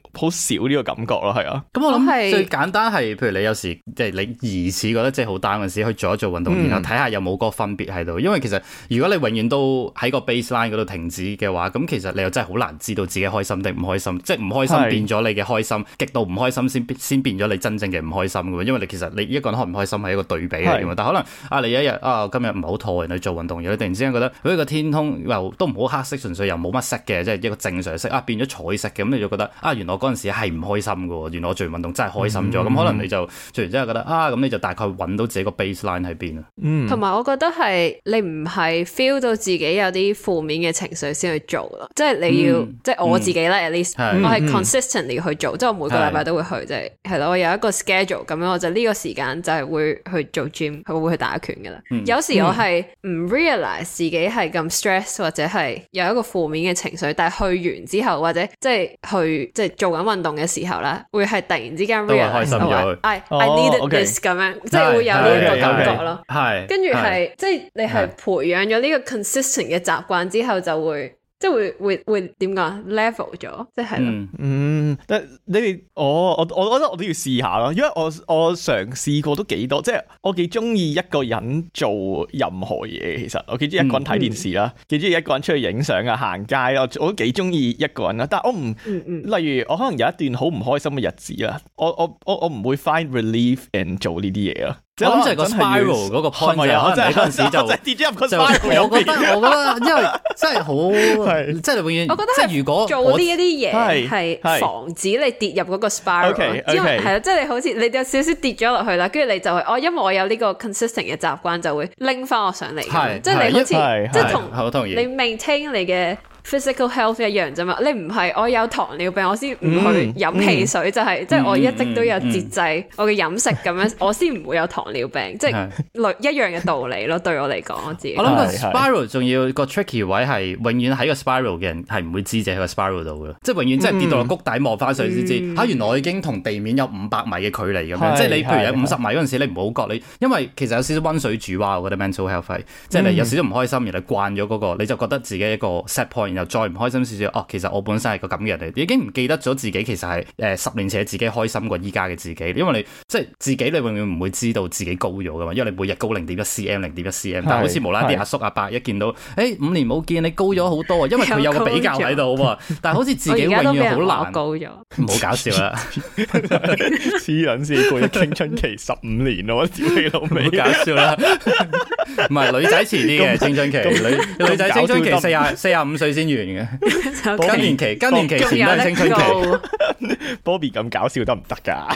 好少呢個感覺咯，係啊。 咁我諗最簡單係，譬如你有時即係你疑似覺得即係好 down 嗰時，去做一做運動，然後睇下有冇嗰個分別喺度。因為其實如果你永遠都喺個 baseline 嗰度停止嘅話，咁其實你又真係好難知道自己開心定唔開心。即係唔開心變咗你嘅開心，極度唔開心先變咗你真正嘅唔開心嘅。因為你其實你一個人開唔開心係一個對比嚟嘅嘛。但可能你一日今日唔係好妥，人去做運動，然後你突然之間覺得個天空又都唔好黑色，純粹又冇乜色嘅，即係一個正常色變咗彩色嘅，咁你就覺得原來我嗰陣時係唔開心嘅，原來我做完運動真係開心咗。咁可能你就做完之後覺得咁你就大概揾到自己個 baseline 喺邊啊。 同埋我覺得係你唔係 feel 到自己有啲負面嘅情緒先去做咯，即係你要即係我自己咧，at least 我係 consistently 去做，即係我每個禮拜都會去，即係咯，我有一個 schedule 咁樣，我就呢個時間就係會去做 gym， 佢會去打拳噶啦。有時我係唔 realize 自己係咁 stress 或者係有一個負面嘅情緒，但係去完之後或者即係去即係做緊運動嘅時候咧，會係突然之間 realize I needed this 咁樣，即係會有呢一個感覺咯。係，跟住係即係你係培養咗呢個 consistent 嘅習慣之後，就會即係會點講 level 咗，即係咯。 但你哋我覺得我都要試下咯，因為我嘗試過都幾多，即係我幾中意一個人做任何嘢。其實我幾中意一個人睇電視啦，幾中意一個人出去影相啊、行街啦，我都幾中意一個人啦。但係我唔，例如我可能有一段好唔開心嘅日子啦，我唔會 find relief in 做呢啲嘢咯。 我諗就係個 spiral 嗰個 point 可能你嗰陣時就跌咗入個 spiral。 我覺得因為真係好，即係你永遠， 我覺得即係如果做呢一啲嘢係防止你跌入嗰個 spiral，因為係啦，即係你好似你有少少跌咗落去啦，跟住你就係因為我有呢個 consistent 嘅習慣，就會拎翻我上嚟，即係你好似即係同你 maintain 你嘅physical health 一樣啫嘛，你唔係我有糖尿病我先唔去飲汽水，就係即係我一直都有節制我嘅飲食咁樣，我先唔會有糖尿病，即係一樣嘅道理咯。對我嚟講，我自己我諗個 spiral 仲要個 tricky 位係永遠喺個 spiral 嘅人係唔會知自己喺個 spiral 度嘅，即係永遠真係跌到落谷底望翻上先知，原來我已經同地面有500米嘅距離咁樣，即係你譬如有50米嗰陣時，你唔好覺你，因為其實有少少溫水煮蛙，我覺得 mental health 係，即係你有少少唔開心，然後慣咗嗰個，你就覺得自己一個 set point，然後再唔開心少少，其實我本身係個咁嘅人嚟，已經唔記得咗自己其實係10年前自己開心過依家嘅自己，因為你即係自己你永遠唔會知道自己高咗噶嘛，因為你每日高0.1 cm，但係好似無啦啦啲阿叔阿伯一見到5年冇見你高咗好多，因為佢有個比較喺度喎，但係好似自己永遠好難高咗， 唔好搞笑啦， 黐撚線過咗青春期15年咯，我屌你老味， 唔好搞笑啦，唔係女仔遲啲嘅青春期，女仔青春期45歲先完嘅。更年期前都係青春期 ，Bobby 咁搞笑得唔得噶？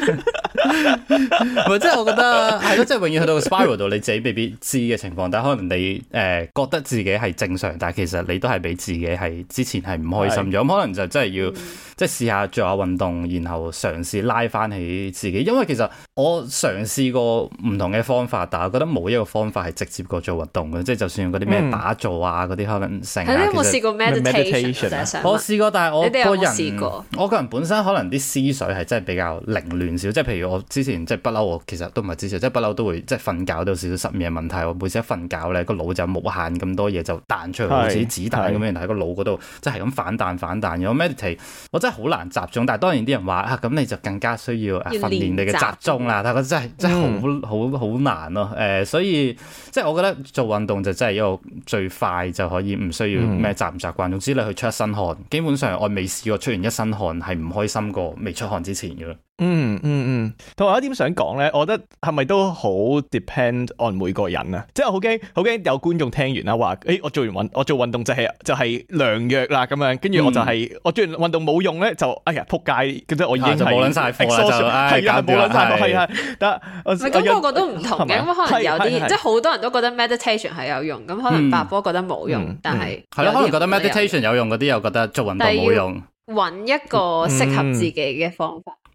唔係，即係我覺得係咯，即係永遠去到個 spiral 度，你自己未必知嘅情況，但係可能你覺得自己係正常，但係其實你都係俾自己係之前係唔開心咗，咁可能就真係要即係試下做下運動，然後嘗試拉翻起自己。因為其實我嘗試過唔同嘅方法，但係我覺得冇一個方法係直接過做運動嘅，即係就算嗰啲咩打坐啊嗰啲可能成。 你有冇試過 meditation？ 我試過，但係我個人我個人本身可能啲思緒係真係比較凌亂少，即係譬如我之前即係不嬲，我其實都唔係之前，即係不嬲都會即係瞓覺都有少少失眠嘅問題。我每次一瞓覺咧，個腦就無限咁多嘢就彈出嚟，好似子彈咁樣喺個腦嗰度，即係咁反彈。有 meditate， 我真係好難集中。但係當然啲人話咁你就更加需要訓練你嘅集中啦。但係我真係好難咯。所以即係我覺得做運動就真係一個最快就可以唔需要咩習唔習慣。總之你去出一身汗，基本上我未試過出完一身汗係唔開心過未出汗之前嘅咯。 同埋有一點想講咧，我覺得係咪都好 depend on 每個人啊？即係好驚有觀眾聽完啦，話我做運動就係良藥啦咁樣，跟住我就係我做完運動冇用咧，就哎呀撲街，即係我已經係冇撚晒貨啦， 係啊冇撚晒貨，係啊，但咁個個都唔同嘅，咁可能有啲即係好多人都覺得 meditation 係有用，咁可能白波覺得冇用，但係係咯，可能覺得 meditation 有用嗰啲又覺得做運動冇用。 揾一個適合自己嘅方法。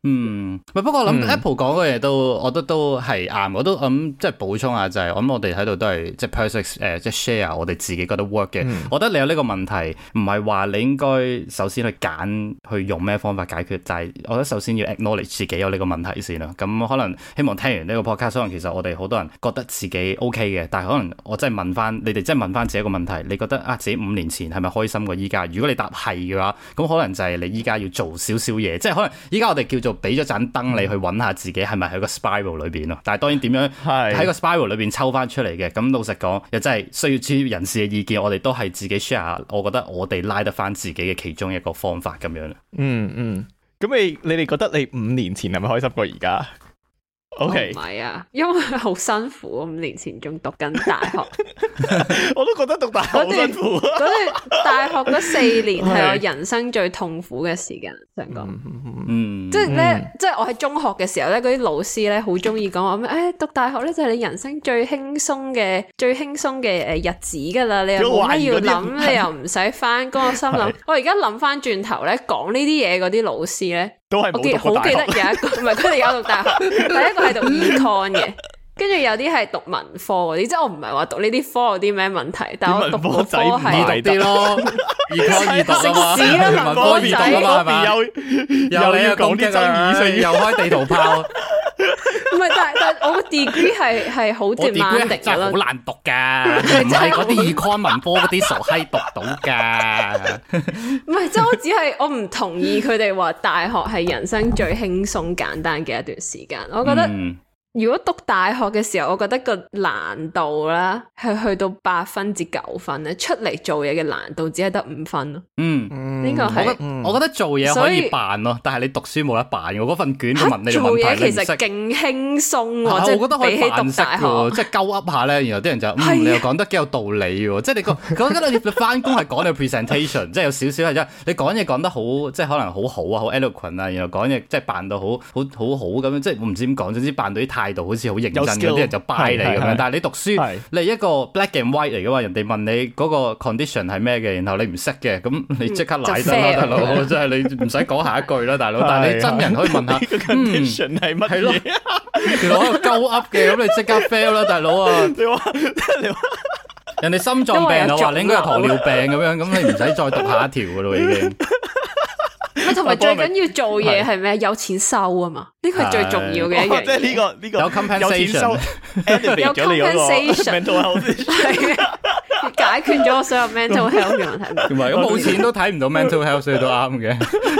不過我諗 Apple 講嘅嘢都，我覺得都係啱。我都諗即係補充下就係，我諗我哋喺度都係即係 perfect 即係 share 我哋自己覺得 work 嘅。我覺得你有呢個問題，唔係話你應該首先去揀去用咩方法解決，就係我覺得首先要 acknowledge 自己有呢個問題先啦。咁可能希望聽完呢個 podcast，可能其實我哋好多人覺得自己 OK 嘅，但係可能我真係問翻你哋，真係問翻自己一個問題，你覺得啊自己5年前係咪開心過依家？如果你答係嘅話，咁可能就係你依家要做少少嘢，即係可能依家我哋叫做俾咗盞燈你去揾下自己係咪喺個 spiral 裏邊咯。但係當然點樣喺個 spiral 裏邊抽翻出嚟嘅，咁老實講又真係需要專業人士嘅意見，我哋都係自己 share。我覺得我哋拉得翻自己嘅其中一個方法咁樣。 咁你哋覺得你5年前係咪開心過而家？OK， 唔係啊，因為好辛苦，5年前仲讀緊大學， 我都覺得讀大學好辛苦。 嗰段大學嗰4年係我人生最痛苦嘅時間，想講，即係咧，即係我喺中學嘅時候咧，嗰啲老師咧好中意講話咩？讀大學咧就係你人生最輕鬆嘅日子噶啦，你又冇乜要諗，你又唔使翻工。我心諗，我而家諗翻轉頭咧，講呢啲嘢嗰啲老師咧。 都係冇讀過大學。 好記得有一個，唔係佢哋有讀大學，第一個係讀 econ 嘅，跟住有啲係讀文科嗰啲，即係我唔係話讀呢啲科有啲咩問題，但係我讀嗰科係易讀啲咯，econ 易讀啊嘛，文科易讀啊嘛，係咪？又你又講啲爭議性，又開地圖炮。 唔係，但我個 degree 係好 demanding 真係好難讀噶，唔係嗰啲 econ 文科嗰啲傻閪讀到噶。 唔係，即係我只係我唔同意佢哋話大學係人生最輕鬆簡單嘅一段時間。我覺得如果讀大學嘅時候，我覺得個難度啦係去到8分至9分咧，出嚟做嘢嘅難度只係得5分咯。呢個係我覺得做嘢可以扮咯，但係你讀書冇得扮嘅。嗰份卷都問你問題， 做嘢其實勁輕鬆喎， 我覺得可以扮識嘅，即係鳩噏下咧，然後啲人就你又講得幾有道理喎，即係你覺得你翻工係講你 presentation， 即係有少少係你講嘢講得好，即係可能好好啊，好 eloquent 啊，然後講嘢即係扮到好好咁樣，即係我唔知點講，總之扮到啲態度好似好認真嘅，啲人就 buy 你咁樣。但係你讀書，你係一個 black and white 嚟噶嘛，人哋問你嗰個 condition 係咩嘅，然後你唔識嘅，咁你即刻賴得啦，大佬，即係你唔使講下一句啦，大佬。但係你真人可以問下 condition 係乜嘢？ 原來我鳩噏嘅，咁你即刻 fail 啦，大佬啊！你話人哋心臟病，我話你應該有糖尿病咁樣，咁你唔使再讀下一條噶咯，已經。 同埋最緊要做嘢係咩？有錢收啊嘛，呢個係最重要嘅一樣嘢。 即係呢個有 compensation， 有 compensation， 係解決咗我所有 mental health 嘅問題。 唔係，咁冇錢都睇唔到 mental health，所以都啱嘅。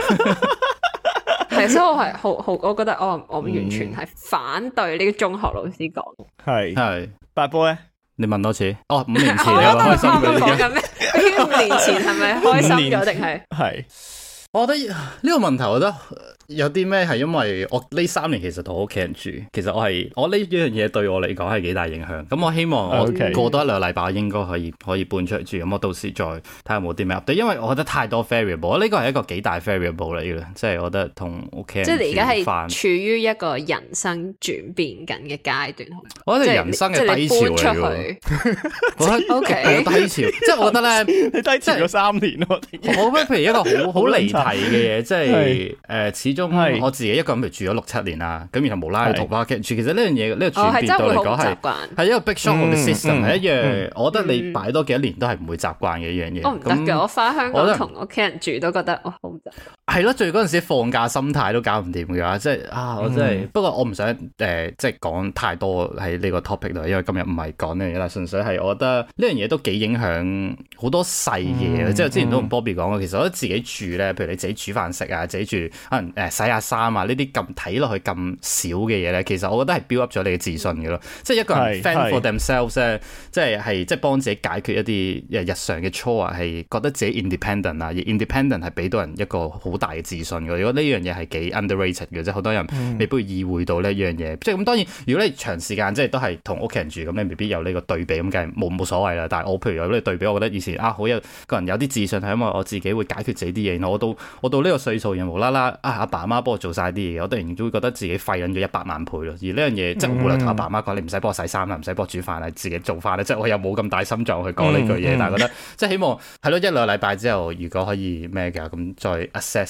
係，所以我係好，我覺得我完全係反對呢個中學老師講。 係八波咧， 你問多次。5年前你係咪開心咗？講緊咩？5年前係咪開心咗定係？ 係。 我覺得呢個問題，我覺得有啲咩係因為我呢3年其實同屋企人住，其實我呢樣嘢對我嚟講係幾大影響。咁我希望我過多1-2個禮拜，我應該可以搬出嚟住。咁我到時再睇下有冇啲咩 update，因為我覺得太多 variable，呢個係一個幾大 variable 嚟嘅，即係我覺得同屋企人即係你而家係處於一個人生轉變緊嘅階段。 我覺得人生嘅低潮嚟嘅，我覺得 OK 低潮，即係我覺得咧， 你低潮咗3年咯。 我覺得譬如一個好離題嘅嘢，即係始終我自己一個人住咗6-7年啦，咁然後無啦啦讀啦，其實呢樣嘢呢個轉變對我嚟講係一個 big shock of the system，係一樣，我覺得你擺多幾多年都係唔會習慣嘅一樣嘢。 我唔得嘅，我翻香港同屋企人住都覺得好唔得。 係咯，最嗰陣時放假心態都搞唔掂嘅，即係我真係。不過我唔想即係講太多喺呢個 topic 度，因為今日唔係講呢樣嘢啦，純粹係我覺得呢樣嘢都幾影響好多細嘢。即係之前都同 Bobby 講過，其實我覺得自己住咧，譬如你自己煮飯食啊，自己住可能洗下衫啊，呢啲咁睇落去咁少嘅嘢咧，其實我覺得係 build up 咗你嘅自信嘅咯。即係一個人 fend for themselves 咧，即係幫自己解決一啲日常嘅 chore，係覺得自己 independent 啊，而 independent 係俾到人一個好大嘅自信嘅。如果呢樣嘢係幾 underrated 嘅，即係好多人未必會意會到呢一樣嘢。即係咁當然，如果你長時間即係都係同屋企人住，咁你未必有呢個對比，咁梗係冇所謂啦。但係我譬如有呢個對比，我覺得以前好有個人有啲自信係因為我自己會解決自己啲嘢。然後我到呢個歲數，然後無啦啦阿爸阿媽幫我做晒啲嘢，我突然間都會覺得自己廢撚咗100萬倍咯。而呢樣嘢即係我冇理由同阿爸阿媽講，你唔使幫我洗衫啦，唔使幫我煮飯啦，自己做飯咧。即係我又冇咁大心臟去講呢句嘢，但係覺得即係希望係咯，1-2個禮拜之後，如果可以咩嘅咁再 assess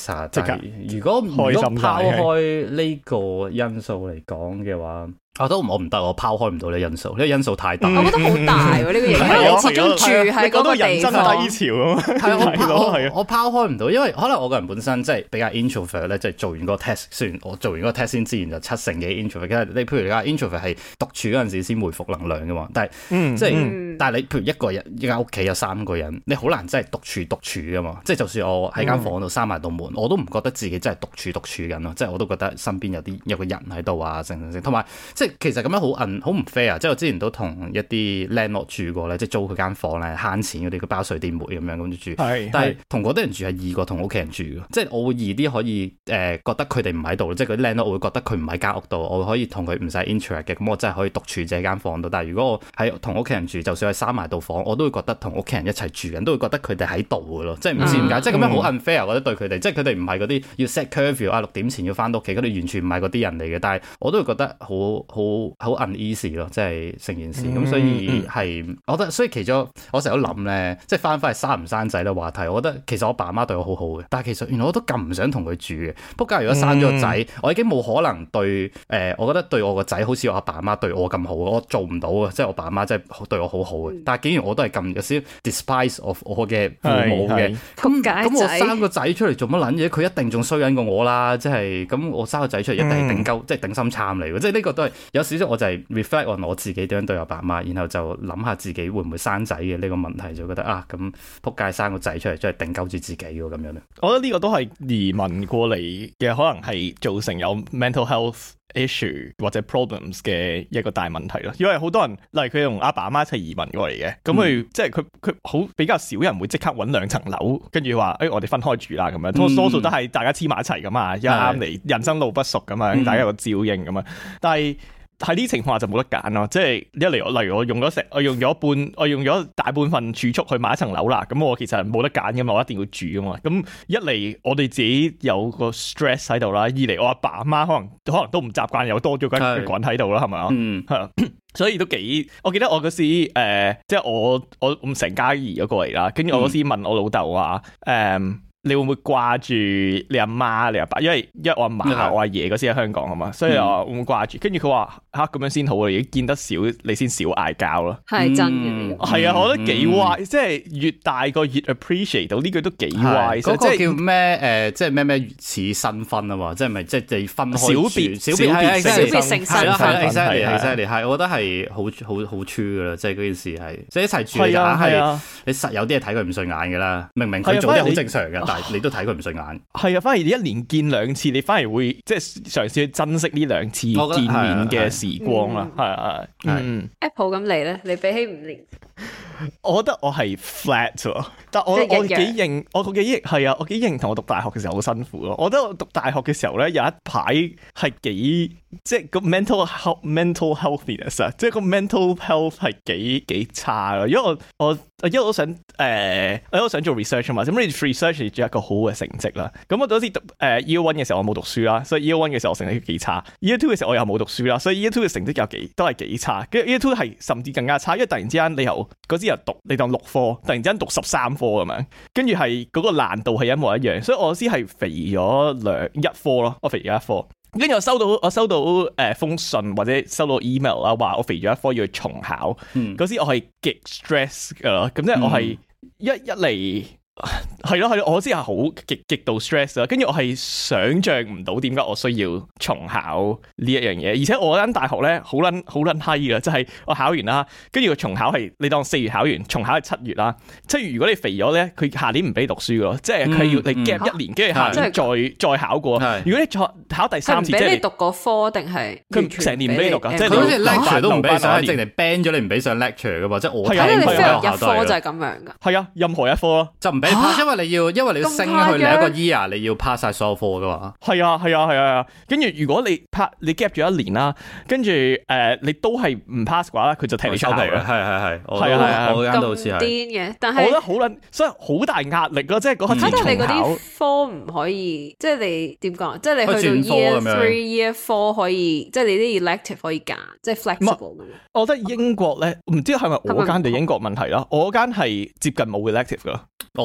visa，但係如果拋開呢個因素嚟講嘅話。我唔得，我拋開唔到呢因素，呢個因素太大。 我覺得好大喎，呢個影響你始終住喺嗰個地方。 低潮啊嘛，係我拋開唔到，因為可能我個人本身即係比較 introvert 咧，即係做完個 test，雖然我做完個 test 先自然就70%幾 introvert。其實你譬如你話 introvert 係獨處嗰陣時先回復能量噶嘛，但係即係但係你譬如一個人一間屋企有3個人，你好難真係獨處噶嘛。即係就算我喺間房度閂埋道門，我都唔覺得自己真係獨處緊咯。即係我都覺得身邊有個人喺度啊，同埋即係其實咁樣好唔 fair。即係我之前都同一啲 landlord 住過咧，即係租佢間房咧慳錢嗰啲，佢包水電煤咁樣咁住。但係同嗰啲人住係易過同屋企人住嘅，即係我會易啲可以覺得佢哋唔喺度，即係嗰啲 landlord 我會覺得佢唔喺間屋度，我可以同佢唔使 interact 嘅，咁我真係可以獨處自己間房度。但係如果我喺同屋企人住，就算係閂埋道房，我都會覺得同屋企人一齊住緊，都會覺得佢哋喺度嘅咯，即係唔知點解，即係咁樣好 unfair，我覺得對佢哋，即係佢哋唔係嗰啲要 set curfew 6點前要翻到屋企，佢哋完全唔係嗰啲人嚟嘅，但係我都會覺得好 uneasy 咯，即係成件事咁，所以係我覺得，所以其中我成日都諗咧，即係翻返去生唔生仔嘅話題，我覺得其實我爸媽對我好好嘅，但係其實原來我都咁唔想同佢住嘅。不過如果生咗個仔，我已經冇可能對我覺得對我個仔好似我阿爸阿媽對我咁好，我做唔到啊！即係我爸阿媽真係對我好好嘅，但係竟然我都係咁有少 despise of 我嘅父母嘅，咁我生個仔出嚟做乜撚嘢？佢一定仲衰緊過我啦！即係咁我生個仔出嚟一定係即係頂心杉嚟嘅，即係呢個都係有少少我就係 reflect on 我自己點樣對我爸媽，然後就諗下自己會唔會生仔嘅呢個問題，就覺得啊咁仆街生個仔出嚟真係頂鳩住自己喎咁樣咧。 我覺得呢個都係移民過嚟嘅，可能係造成有 mental health issue 或者 problems 嘅一個大問題咯。因為好多人例如佢同阿爸阿媽一齊移民過嚟嘅，咁佢即係佢好比較少人會即刻揾2層樓，跟住話我哋分開住啦咁樣。多數都係大家黐埋一齊噶嘛，一啱嚟人生路不熟咁樣，大家有個照應咁樣。但係喺呢情況下就冇得揀咯，即係一嚟例如我用咗大半份儲蓄去買1層樓啦，咁我其實冇得揀噶嘛，我一定要住噶嘛。咁一嚟我哋自己有個 stress 喺度啦，二嚟我阿爸阿媽可能都唔習慣有多咗個人喺度啦，係咪啊？係啊，所以都幾，我記得我嗰時即係我成家移咗過嚟啦，跟住我嗰時問我老豆話你會唔會掛住你阿媽、你阿爸？因為我阿嫲、我阿爺嗰時喺香港啊嘛，所以我會唔會掛住？跟住佢話咁樣先好啊！已經見得少，你先少嗌交咯。 係真嘅， 係啊，我覺得幾 wise，即係越大個越 appreciate 到呢句都幾 wise。嗰個叫咩？即係咩似新婚啊嘛？即係咪即係分開小別成新係啦，exactly 係，我覺得係好 true 噶啦，即係嗰件事係即係一齊住嘅係你實有啲嘢睇佢唔順眼噶啦，明佢做啲好正常嘅。你都睇佢唔順眼， 係啊！反而你1年見2次，你反而會即係嘗試去珍惜呢2次見面嘅時光啦。係 Apple 咁你咧，你比起5年， 我覺得我係 flat 喎，但我幾認，我幾認同我讀大學嘅時候好辛苦咯。我覺得我讀大學嘅時候咧，有一排係幾即係個 mental healthiness 啊，即係個 mental health 係幾差咯。因為我一路都想我都想做 research 啊嘛，咁你 research 做一個好嘅成績啦。咁我嗰時讀Year 1嘅時候我冇讀書啦，所以 Year 1嘅時候我成績幾差。Year 2嘅時候我又冇讀書啦，所以 Year 2嘅成績都係幾差。跟住 Year 2係甚至更加差，因為突然之間你嗰時又讀你當6科，突然之間讀13科咁樣，跟住係嗰個難度係一模一樣，所以我先係肥咗1科咯，我肥咗1科。跟住我收到封信或者收到 email 啦，話我肥咗1科要去重考。嗰時我係極 stress 噶咯，咁即係我係一嚟。係咯，我先係好極度 stress 啦，跟住我係想象唔到點解我需要重考呢一樣嘢，而且我間大學咧好撚閪噶，即係我考完啦，跟住個重考係你當4月考完，重考係7月啦。7月如果你肥咗咧，佢下年唔俾讀書噶，即係佢要你 gap 1年，跟住下年再考過。如果你考第3次，即係你讀嗰科定係佢成年唔俾你讀噶，即係好似 lecture 都唔俾上，淨係 ban 咗你唔俾上 lecture 噶嘛，即係我睇你 fail 1科就係咁樣噶。 係啊，任何1科咯， 就唔俾你 pass，因為你要升去另一個 year，你要 pass 晒所有科噶嘛。係啊，跟住如果你 gap 咗1年啦，跟住你都係唔 pass 嘅話，佢就踢你出嚟嘅。係， 我間都好似係。 咁癲嘅，但係我覺得所以好大壓力咯，即係嗰刻重考。 你嗰啲科唔可以，即係你點講？即係你去到 year 3、year 4可以，即係你啲 elective 可以揀，即係 flexible 咁樣。 我覺得英國咧，唔知係咪我間定英國問題啦？我間係接近冇 elective 噶。 我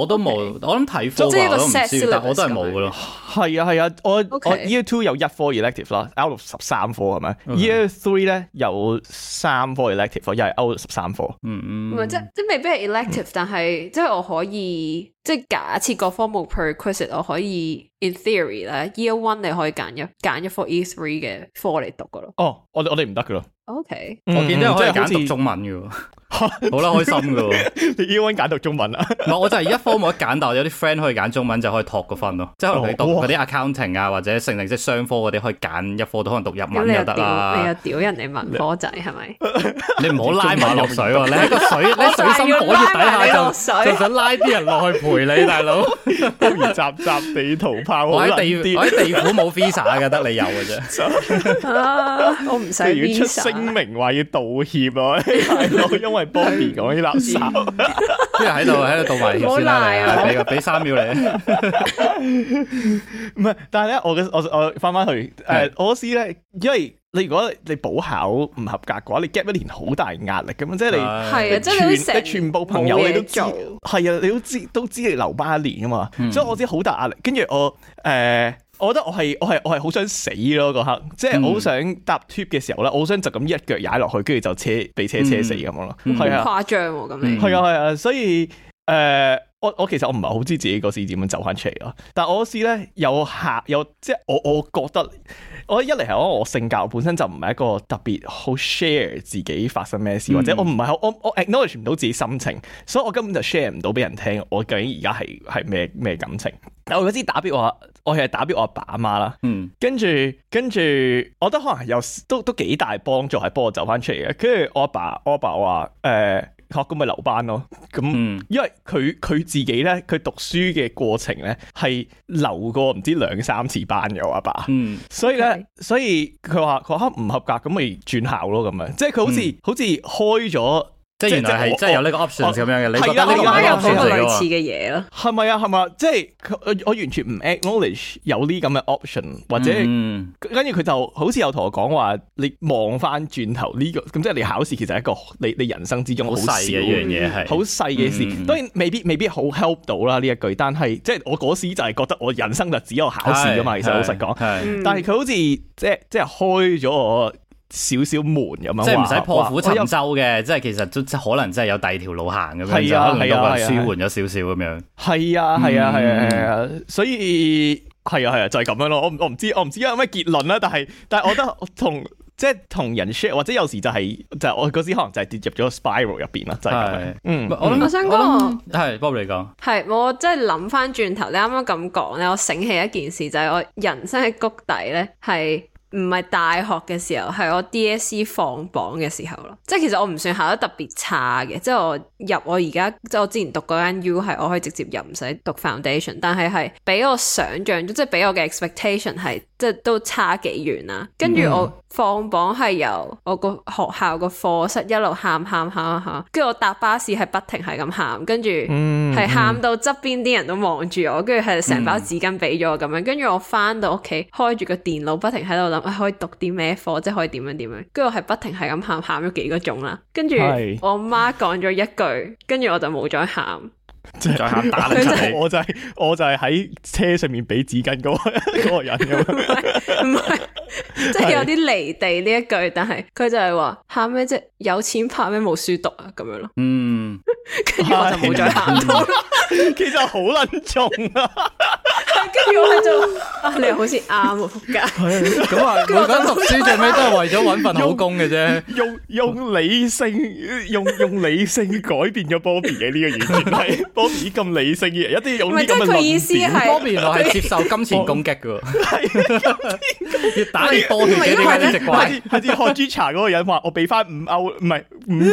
都冇，我諗睇科即係一個我都唔 set 知，但我都係 syllabus 冇噶咯。 係啊，我 Okay. Year 2有1科 elective 啦，out of 13科係咪？Year 3咧有3科 elective， 又係 out of 13科。 唔係即未必係 elective，但係即係我可以即係假設個科目 prerequisite， 我可以 in theory 咧 Year 1你可以揀一科 Year 3嘅科嚟讀噶咯。 哦，我哋唔得噶咯。 OK， 我見到可以即係好似揀讀中文嘅喎，好啦，開心嘅喎。 你 Year 1揀讀中文啊？ 唔係，我就係一科冇得揀，但我有啲 friend 可以揀中文就可以托個分咯。即係可能你讀嗰啲 accounting 啊，或者成即係商科嗰啲，可以揀一科都可能讀日文又得你啦。 又屌人哋文科仔係咪？ 你唔好拉埋落水喎！你喺個水深火熱底下就想拉啲人落去陪你，大佬。 不如集地圖炮我好喺難啲。 地府冇 visa 嘅，得你有嘅啫。 我唔使如果出 visa 聲明話要道歉啊，大佬，因為 Bobby 講啲垃圾。 跟住喺度道埋歉先啦，你俾3秒你。 唔係，但係咧，我翻去我試咧，因為你如果你補考唔合格嘅話，你 gap 1年好大壓力㗎嘛，即係你係啊，即係你全部朋友你都知， 冇嘢係啊，你都知你留班1年啊嘛，所以我知好大壓力。跟住我覺得我係好想死咯嗰刻，即係我好想搭 tube 嘅時候咧，我好想就咁一腳踩落去，跟住就俾車死咁樣咯，係啊， 誇張喎咁你。 係啊，所以我其實我唔係好知自己嗰時點樣走翻出嚟咯，但係我試咧有即係我覺得我一嚟係我性格本身就唔係一個特別好 share 自己發生咩事，或者我唔係我 acknowledge 唔到自己心情，所以我根本就 share 唔到俾人聽我究竟而家係咩感情。但我嗰時打俾我係打俾我阿爸阿媽啦，跟住我覺得可能有都幾大幫助係幫我走翻出嚟嘅。跟住我阿爸話咁咪留班咯，咁因為佢自己咧，佢讀書嘅過程咧係留過唔知2-3次班嘅我阿爸，所以咧，所以佢話唔合格咁咪轉校咯咁樣，即係佢好似開咗。 即係原來係真係有呢個 option 咁樣嘅，你覺得呢個有係 option 個嚟類似嘅？ 嘅嘢咯， 係咪啊？即係我完全唔 acknowledge 有呢咁嘅 option， 或者跟住佢就好似有同我講話，你望翻轉頭呢個咁，即係你考試其實係一個你人生之中好細嘅一樣嘢，係好細嘅事。當然未必好 help 到啦呢一句，但係即係我嗰時就係覺得我人生就只有考試噶嘛。其實老實講，但係佢好似即係開咗我少門咁樣， 即係唔使破釜沉舟嘅，即係其實都可能真係有第二條路行咁樣，就可能都舒緩咗少少咁樣。 係啊，所以係啊，就係咁樣咯。我唔知有咩結論啦，但係我覺得同人 share 或者有時就係我嗰時可能就係跌入咗個 spiral 入邊啦，就係咁樣。 我想講係 Bob 你講， 係我真係諗翻轉頭，你啱啱咁講咧，我醒起一件事就係我人生嘅谷底咧係。唔係大學嘅時候，係我 DSE 放榜嘅時候咯。即係其實我唔算考得特別差嘅，即係我而家即係我之前讀嗰間 U 係我可以直接入唔使讀 foundation， 但係比我想象中，即係比我嘅 expectation 係即係都差幾遠啦。跟住我放榜係由我個學校個課室一路喊，跟住我搭巴士係不停係咁喊，跟住係喊到側邊啲人都望住我，跟住係成包紙巾俾咗我咁樣。跟住我翻到屋企開住個電腦不停喺度諗。可以讀啲咩課，即係可以點樣，跟住我係不停係咁喊咗幾個鐘啦，跟住我媽講咗一句，跟住我就冇再喊， 再喊打你出嚟，我就係喺車上面俾紙巾嗰個人咁樣，唔係， 即係有啲離地呢一句，但係佢就係話喊咩啫，有錢怕咩冇書讀啊咁樣咯，跟住我就冇再喊到， 其實好撚重啊！ 跟住我就你又好似啱喎，仆街。 咁啊，每個人讀書最尾都係為咗搵份好工嘅啫。 用理性改變咗 Bobby 嘅呢個完全係 Bobby 咁理性嘅人，一定要用呢咁嘅論點。 Bobby 原來係接受金錢攻擊嘅，越打越多血嘅點解呢隻怪？ 係似喝豬茶嗰個人話：我俾翻5歐，唔係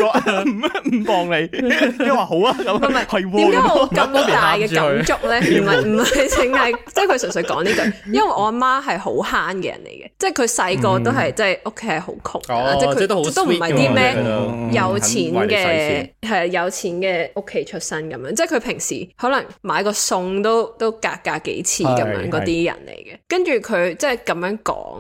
5磅你，你話好啊咁。係點解我咁大嘅感觸咧？唔係淨係。即係佢純粹講呢句，因為我阿媽係好慳嘅人嚟嘅，即係佢細個都係即係屋企係好窮，即係佢都唔係啲咩有錢嘅，係有錢嘅屋企出身咁樣，即係佢平時可能買個餸都格幾次咁樣嗰啲人嚟嘅，跟住佢即係咁樣講。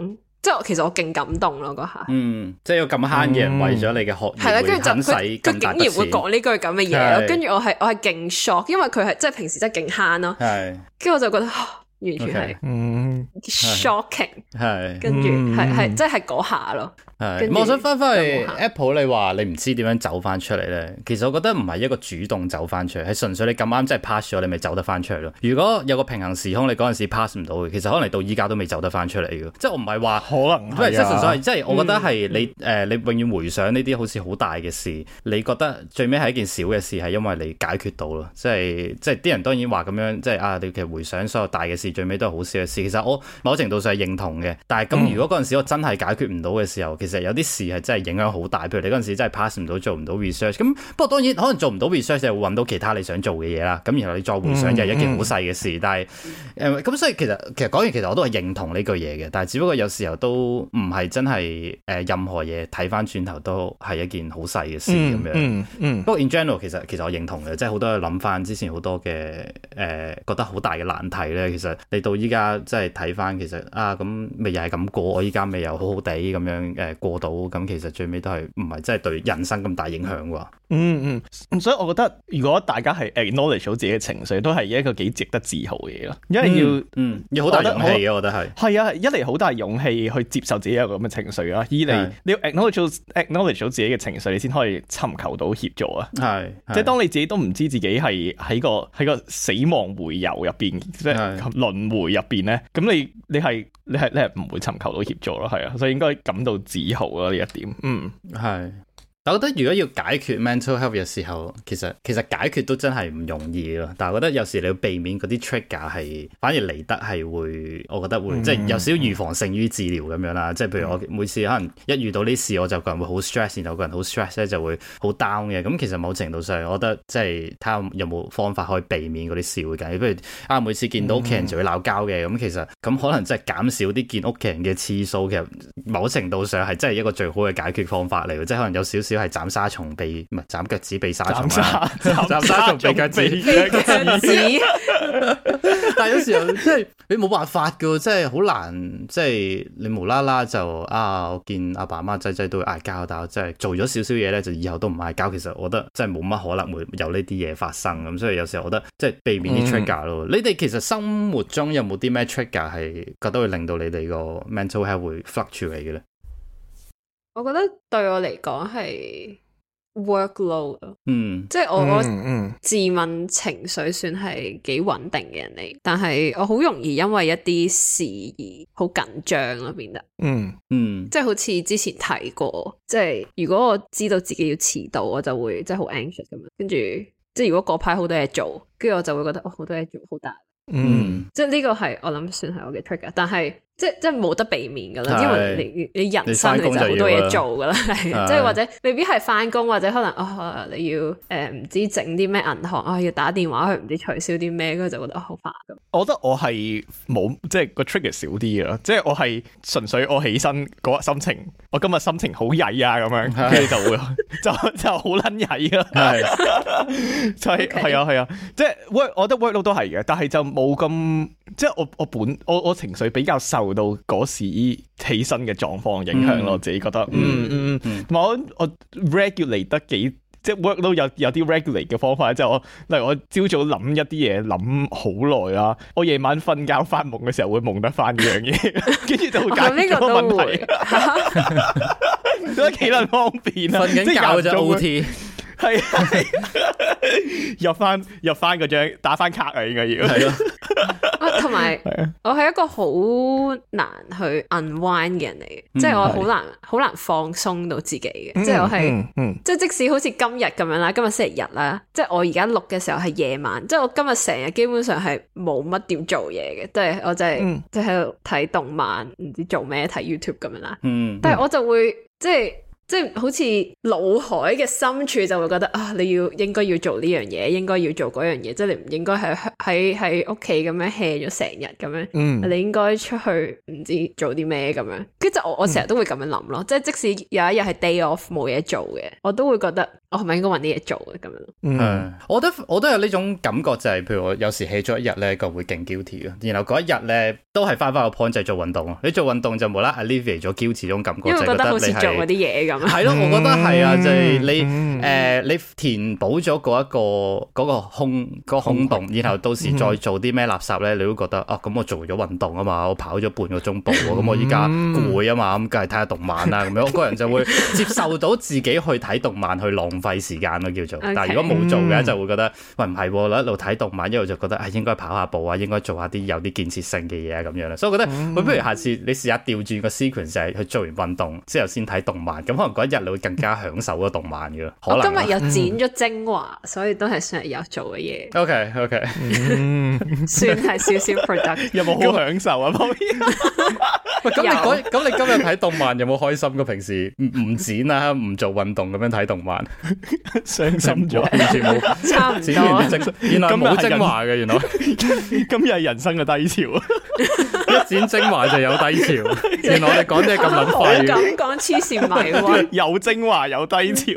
即係其實我勁感動咯嗰下。 即係有咁慳嘅人為咗你嘅學業， 係啦，跟住就肯使佢咁大筆錢， 竟然會講呢句咁嘅嘢咯，跟住我係勁 shock，因為佢係即係平時真係勁慳咯， 係， 跟住我就覺得完全係shocking， 係， 跟住係即係嗰下咯。 係，我想翻去 Apple， 你話你唔知點樣走翻出嚟咧，其實我覺得唔係一個主動走翻出嚟，係純粹你咁啱真係 pass 咗，你咪走得翻出嚟咯。如果有個平衡時空，你嗰陣時 pass 唔到嘅，其實可能到依家都未走得翻出嚟嘅。即係我唔係話可能係即係純粹係，即係我覺得係你你永遠回想呢啲好似好大嘅事，你覺得最尾係一件小嘅事，係因為你解決到咯。即係啲人當然話咁樣，即係你其實回想所有大嘅事，最尾都係好小嘅事。其實我某程度上係認同嘅，但係咁如果嗰陣時我真係解決唔到嘅時候，其實有啲事係真係影響好大。譬如你嗰陣時真係 pass 唔到，做唔到 research， 咁不過當然可能做唔到 research 就會揾到其他你想做嘅嘢啦。咁然後你再回想又係一件好細嘅事，但係咁所以其實講完其實我都係認同呢句嘢嘅，但係只不過有時候都唔係真係任何嘢睇翻轉頭都係一件好細嘅事咁樣。不過 in general 其實我認同嘅，即係好多諗翻之前好多嘅覺得好大嘅難題咧，其實你到依家即係睇翻，其實咁咪又係咁過，我依家咪又好好地咁樣過到，咁其實最尾都係唔係真係對人生咁大影響啩。 所以我覺得如果大家係 acknowledge 到自己嘅情緒，都係一個幾值得自豪嘅嘢咯。因為要好大勇氣嘅，我覺得係啊，一嚟好大勇氣去接受自己有咁嘅情緒啦，二嚟你要 acknowledge 到自己嘅情緒，你先可以尋求到協助啊。係，即係當你自己都唔知自己係喺個死亡回游入邊，即係輪迴入邊咧，咁你係唔會尋求到協助咯，係啊，所以應該感到自豪咯呢一點。 係。但我覺得如果要解決 mental health 嘅時候，其實解決都真係唔容易咯。但係我覺得有時你要避免嗰啲 trigger 係反而嚟得係會，我覺得會即係有少少預防勝於治療咁樣啦。即係譬如我每次可能一遇到呢事，我就個人會好 stress，然後個人好 stress 咧就會好 down 嘅。咁其實某程度上，我覺得即係睇下有冇方法可以避免嗰啲事會緊。譬如每次見到屋企人就會鬧交嘅，咁其實咁可能即係減少啲見屋企人嘅次數，其實某程度上係真係一個最好嘅解決方法嚟。即係可能有少少係斬沙蟲避，唔係斬腳趾避沙蟲啦，斬沙蟲避腳趾。但係有時候即係你冇辦法噶，即係好難，即係你無啦啦就我見阿爸阿媽仔仔都會嗌交，但係即係做咗少少嘢咧，就以後都唔嗌交。其實我覺得即係冇乜可能會有呢啲嘢發生咁，所以有時候我覺得即係避免啲 trigger 咯。你哋其實生活中有冇啲咩 trigger 係覺得會令到你哋個 mental health 會 fluctuate 嘅咧？ 我覺得對我嚟講係 workload，即係我自問情緒算係幾穩定嘅人嚟，但係我好容易因為一啲事而好緊張咯，變得即係好似之前提過，即係如果我知道自己要遲到，我就會即係好 anxious 咁樣，跟住即係如果嗰排好多嘢做，跟住我就會覺得好多嘢做好大，即係呢個係我諗算係我嘅 trigger， 但係即係冇得避免噶啦，因為你人生你就好多嘢做噶啦，即係或者未必係翻工，或者可能你要唔知整啲咩銀行要打電話去唔知取消啲咩，跟住就覺得好煩咁。 我覺得我係冇即係個 trigger 少啲嘅，即係我係純粹我起身嗰日心情，我今日心情好曳啊咁樣，跟住就會就好撚曳啊，就係啊，即係 work， 我覺得 workload 都係嘅，但係就冇咁即係我情緒比較受到嗰時起身嘅狀況影響咯，我自己覺得，同埋我 regulate 得幾，即係 work 都有啲 regulate 嘅方法，即係我例如我朝早諗一啲嘢諗好耐啦，我夜晚瞓覺發夢嘅時候會夢得翻呢樣嘢，跟住就會解決咗個問題，都幾撚方便啊！ 瞓緊覺就 OT。 係入翻嗰張打翻卡啊，應該要係咯。 同埋我係一個好難去 unwind 嘅人嚟嘅，即係我好難放鬆到自己嘅，即係我係即係即使好似今日咁樣啦，今日星期日啦，即係我而家錄嘅時候係夜晚，即係我今日成日基本上係冇乜點做嘢嘅，即係我就係即係喺度睇動漫，唔知做咩睇 YouTube 咁樣啦。但係我就會即係即係好似腦海嘅深處就會覺得啊，你應該要做呢樣嘢，應該要做嗰樣嘢，即係你唔應該喺屋企咁樣 hea 咗成日咁樣，你應該出去唔知做啲咩咁樣。跟住我成日都會咁樣諗咯，即係即使有一日係 day off 冇嘢做嘅，我都會覺得我係咪應該搵啲嘢做嘅咁樣。 我覺得我都有呢種感覺，就係譬如我有時 hea 咗一日咧，個會勁 guilty 嘅，然後嗰一日咧都係翻個 point 就係做運動。你做運動就冇啦 alleviate 咗 guilty 種感覺， 因為覺得好似你做嗰啲嘢咁。 係咯，我覺得係啊，就係你填補咗嗰個空洞，然後到時再做啲咩垃圾咧，你都覺得啊，咁我做咗運動啊嘛，我跑咗半個鐘步，咁我依家攰啊嘛，咁梗係睇下動漫啦咁樣，我個人就會接受到自己去睇動漫去浪費時間咯叫做。但係如果冇做嘅就會覺得，喂唔係喎，一路睇動漫一路就覺得應該跑下步啊，應該做下啲有啲建設性嘅嘢啊咁樣啦。所以我覺得，不如下次你試下調轉個 sequence，就係去做完運動之後先睇動漫，咁可能嗰一日你會更加享受嗰動漫嘅。我今日又剪咗精華，所以都係算係有做嘅嘢。 OK， 算係少少 product。 有冇好享受啊？ 喂，咁你今日睇動漫有冇開心過？平時唔剪啊，唔做運動咁樣睇動漫， 傷心咗， 完全冇， 差唔多。 原來冇精華嘅，原來今日係人生嘅低潮啊！ 一剪精華就有低潮，原來我哋講啲咁撚廢。 咁講黐線迷喎， 有精華有低潮。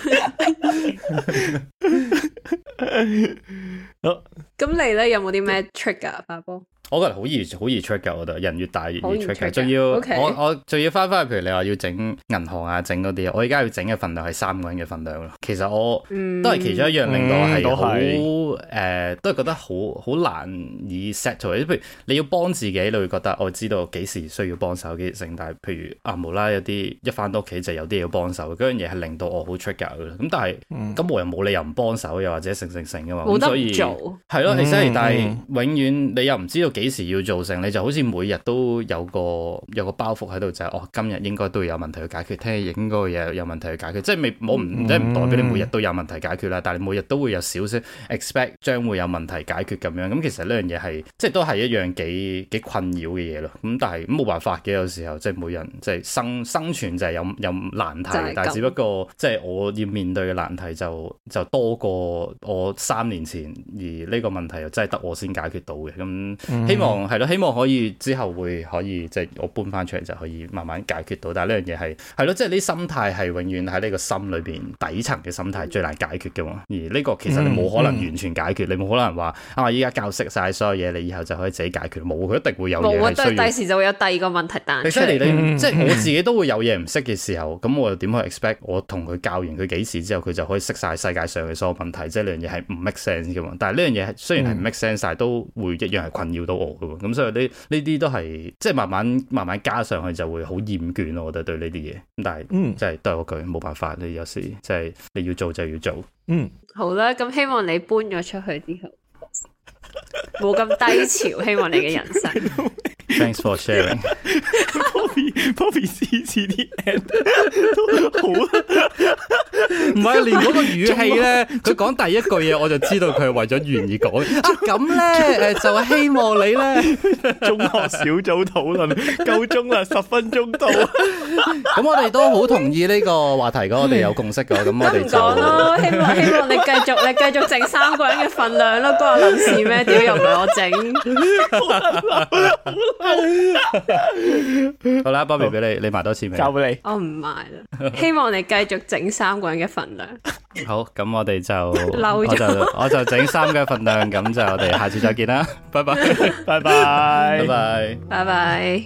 咁你咧有冇啲咩 trick 啊，花波？ 我覺得好易 trick 㗎，我覺得人越大越易 trick 㗎，仲要 Okay. 我仲要翻去，譬如你話要整銀行啊，整嗰啲，我而家要整嘅份量係3個人嘅份量咯。其實我都係其中一樣令到我係好都係覺得好難以 settle。譬如你要幫自己，你會覺得我知道幾時需要幫手幾時剩，但係譬如無啦有啲一翻到屋企就有啲嘢要幫手，嗰樣嘢係令到我好 trigger 㗎。咁但係咁我又冇理由唔幫手，又或者成㗎嘛。 冇得所以做係咯，但係永遠你又唔知道幾時要做成，你就好似每日都有個包袱喺度，就係今日應該都有問題去解決，聽日應該有問題去解決，即係唔代表你每日都有問題解決啦，但係你每日都會有少少 expect 將會有問題解決咁樣。咁其實呢樣嘢係即係都係一樣幾困擾嘅嘢咯。咁但係冇辦法嘅，有時候即係每人即係生存就係有難題，但係只不過即係我要面對嘅難題就多過我3年前，而呢個問題又真係得我先解決到嘅。咁希望係咯，希望可以之後可以即係我搬翻出嚟就可以慢慢解決到。但係呢樣嘢係咯，即係呢心態係永遠喺呢個心裏邊底層嘅心態最難解決嘅嘛。而呢個其實你冇可能完全解決，你冇可能話依家教識晒所有嘢，你以後就可以自己解決。冇，佢一定會有嘢係需要。 第時就會有第二個問題彈出嚟。 即係我自己都會有嘢唔識嘅時候，咁我又點去 expect 我同佢教完佢幾時之後，佢就可以識晒世界上嘅所有問題？即係呢樣嘢係唔 make sense 嘅嘛。但係呢樣嘢雖然係唔 make sense，但係都會一樣係困擾到我嘅。咁所以呢啲都係即係慢慢加上去就會好厭倦咯。我覺得對呢啲嘢，咁但係即係都係嗰句冇辦法，你有時即係你要做就要做。 好啦，咁希望你搬咗出去之後冇咁低潮，希望你嘅人生。 Thanks for sharing。 Poppy 次次啲 end 都好， 唔係連嗰個語氣咧，佢講第一句嘢我就知道佢係為咗完而講。咁咧就係希望你咧中學小組討論夠鐘啦，10分鐘到。 咁我哋都好同意呢個話題㗎，我哋有共識㗎。咁我哋就講咯，希望你繼續整3個人嘅份量咯，關我撚事咩？屌又唔係我整。 好啦，Bobby 俾你埋多次未？ 交俾你。 我唔埋啦，希望你繼續整3個人嘅份量。 好，咁我哋就我就整3個份量，咁就我哋下次再見啦，拜拜， 拜拜， 拜拜， 拜拜。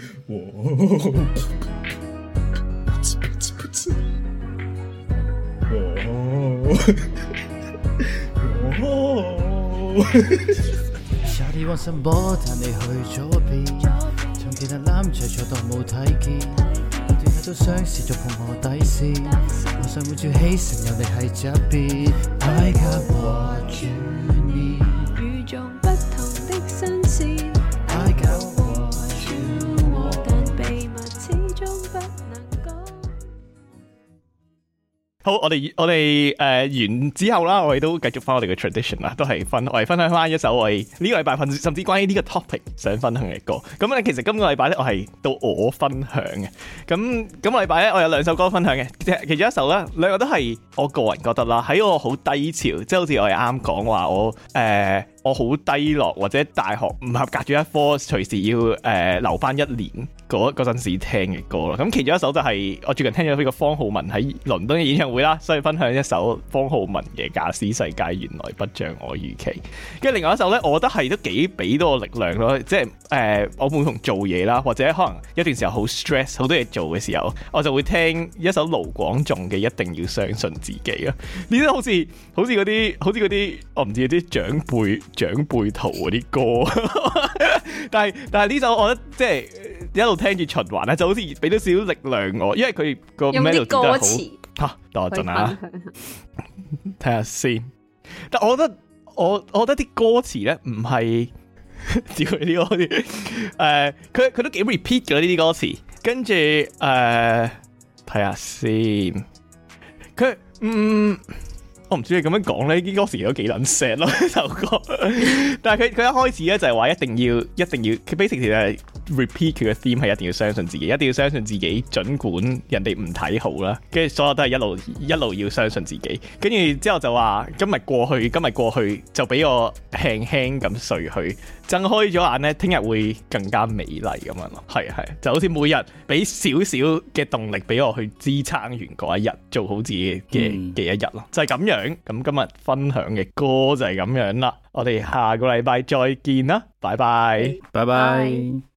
Shawty want some more，但你去咗邊？從其他男仔坐當冇睇見，不斷喺度嘗試觸碰我底線。我想會照起成有你喺側邊。I got what you need， 與眾不同的新鮮。 I got what you want， 但秘密始終不能講。 好，我哋完之後啦，我哋都繼續翻我哋嘅 tradition 啦，都係我哋分享翻一首我哋呢個禮拜甚至關於呢個 topic 想分享嘅歌。咁咧，其實今個禮拜咧，我係到我分享嘅。咁今個禮拜咧，我有2首歌分享嘅，其中一首咧，兩個都係我個人覺得啦，喺我好低潮，即係好似我哋啱講話我好低落，或者大學唔合格咗一科，隨時要留翻1年嗰陣時聽嘅歌啦。咁其中一首就係我最近聽咗呢個方皓玟喺倫敦嘅演唱會啦，所以分享一首方皓玟嘅《假使世界原來不像我預期》。跟住另外一首咧，我覺得係都幾俾到我力量咯，即係我每逢做嘢啦，或者可能一段時候好 stress 好多嘢做嘅時候，我就會聽一首盧廣仲嘅《一定要相信自己》啊。呢啲好似嗰啲我唔知啲長輩圖嗰啲歌，但係呢首我覺得即係一路聽住循環咧，就好似俾到少少力量我，因為佢個 melody 都係好嚇。等我陣啊，睇下先。但我覺得啲歌詞咧唔係照佢呢個啲佢都幾 repeat 嘅呢啲歌詞，跟住睇下先，佢我唔知你咁樣講咧，啲歌詞都幾撚 sad 咯呢首歌。但係佢一開始咧就係話一定要，佢 basically 就係 repeat 佢嘅 theme 係一定要相信自己，一定要相信自己，儘管人哋唔睇好啦。跟住所有都係一路要相信自己。跟住之後就話今日過去就俾我輕輕咁睡去，睜開咗眼咧，聽日會更加美麗咁樣咯。係就好似每日俾少少嘅動力俾我去支撐完嗰一日，做好自己嘅一日咯，就係咁樣。咁今日分享嘅歌就係咁樣啦，我哋下個禮拜再見啦，拜拜， 拜拜。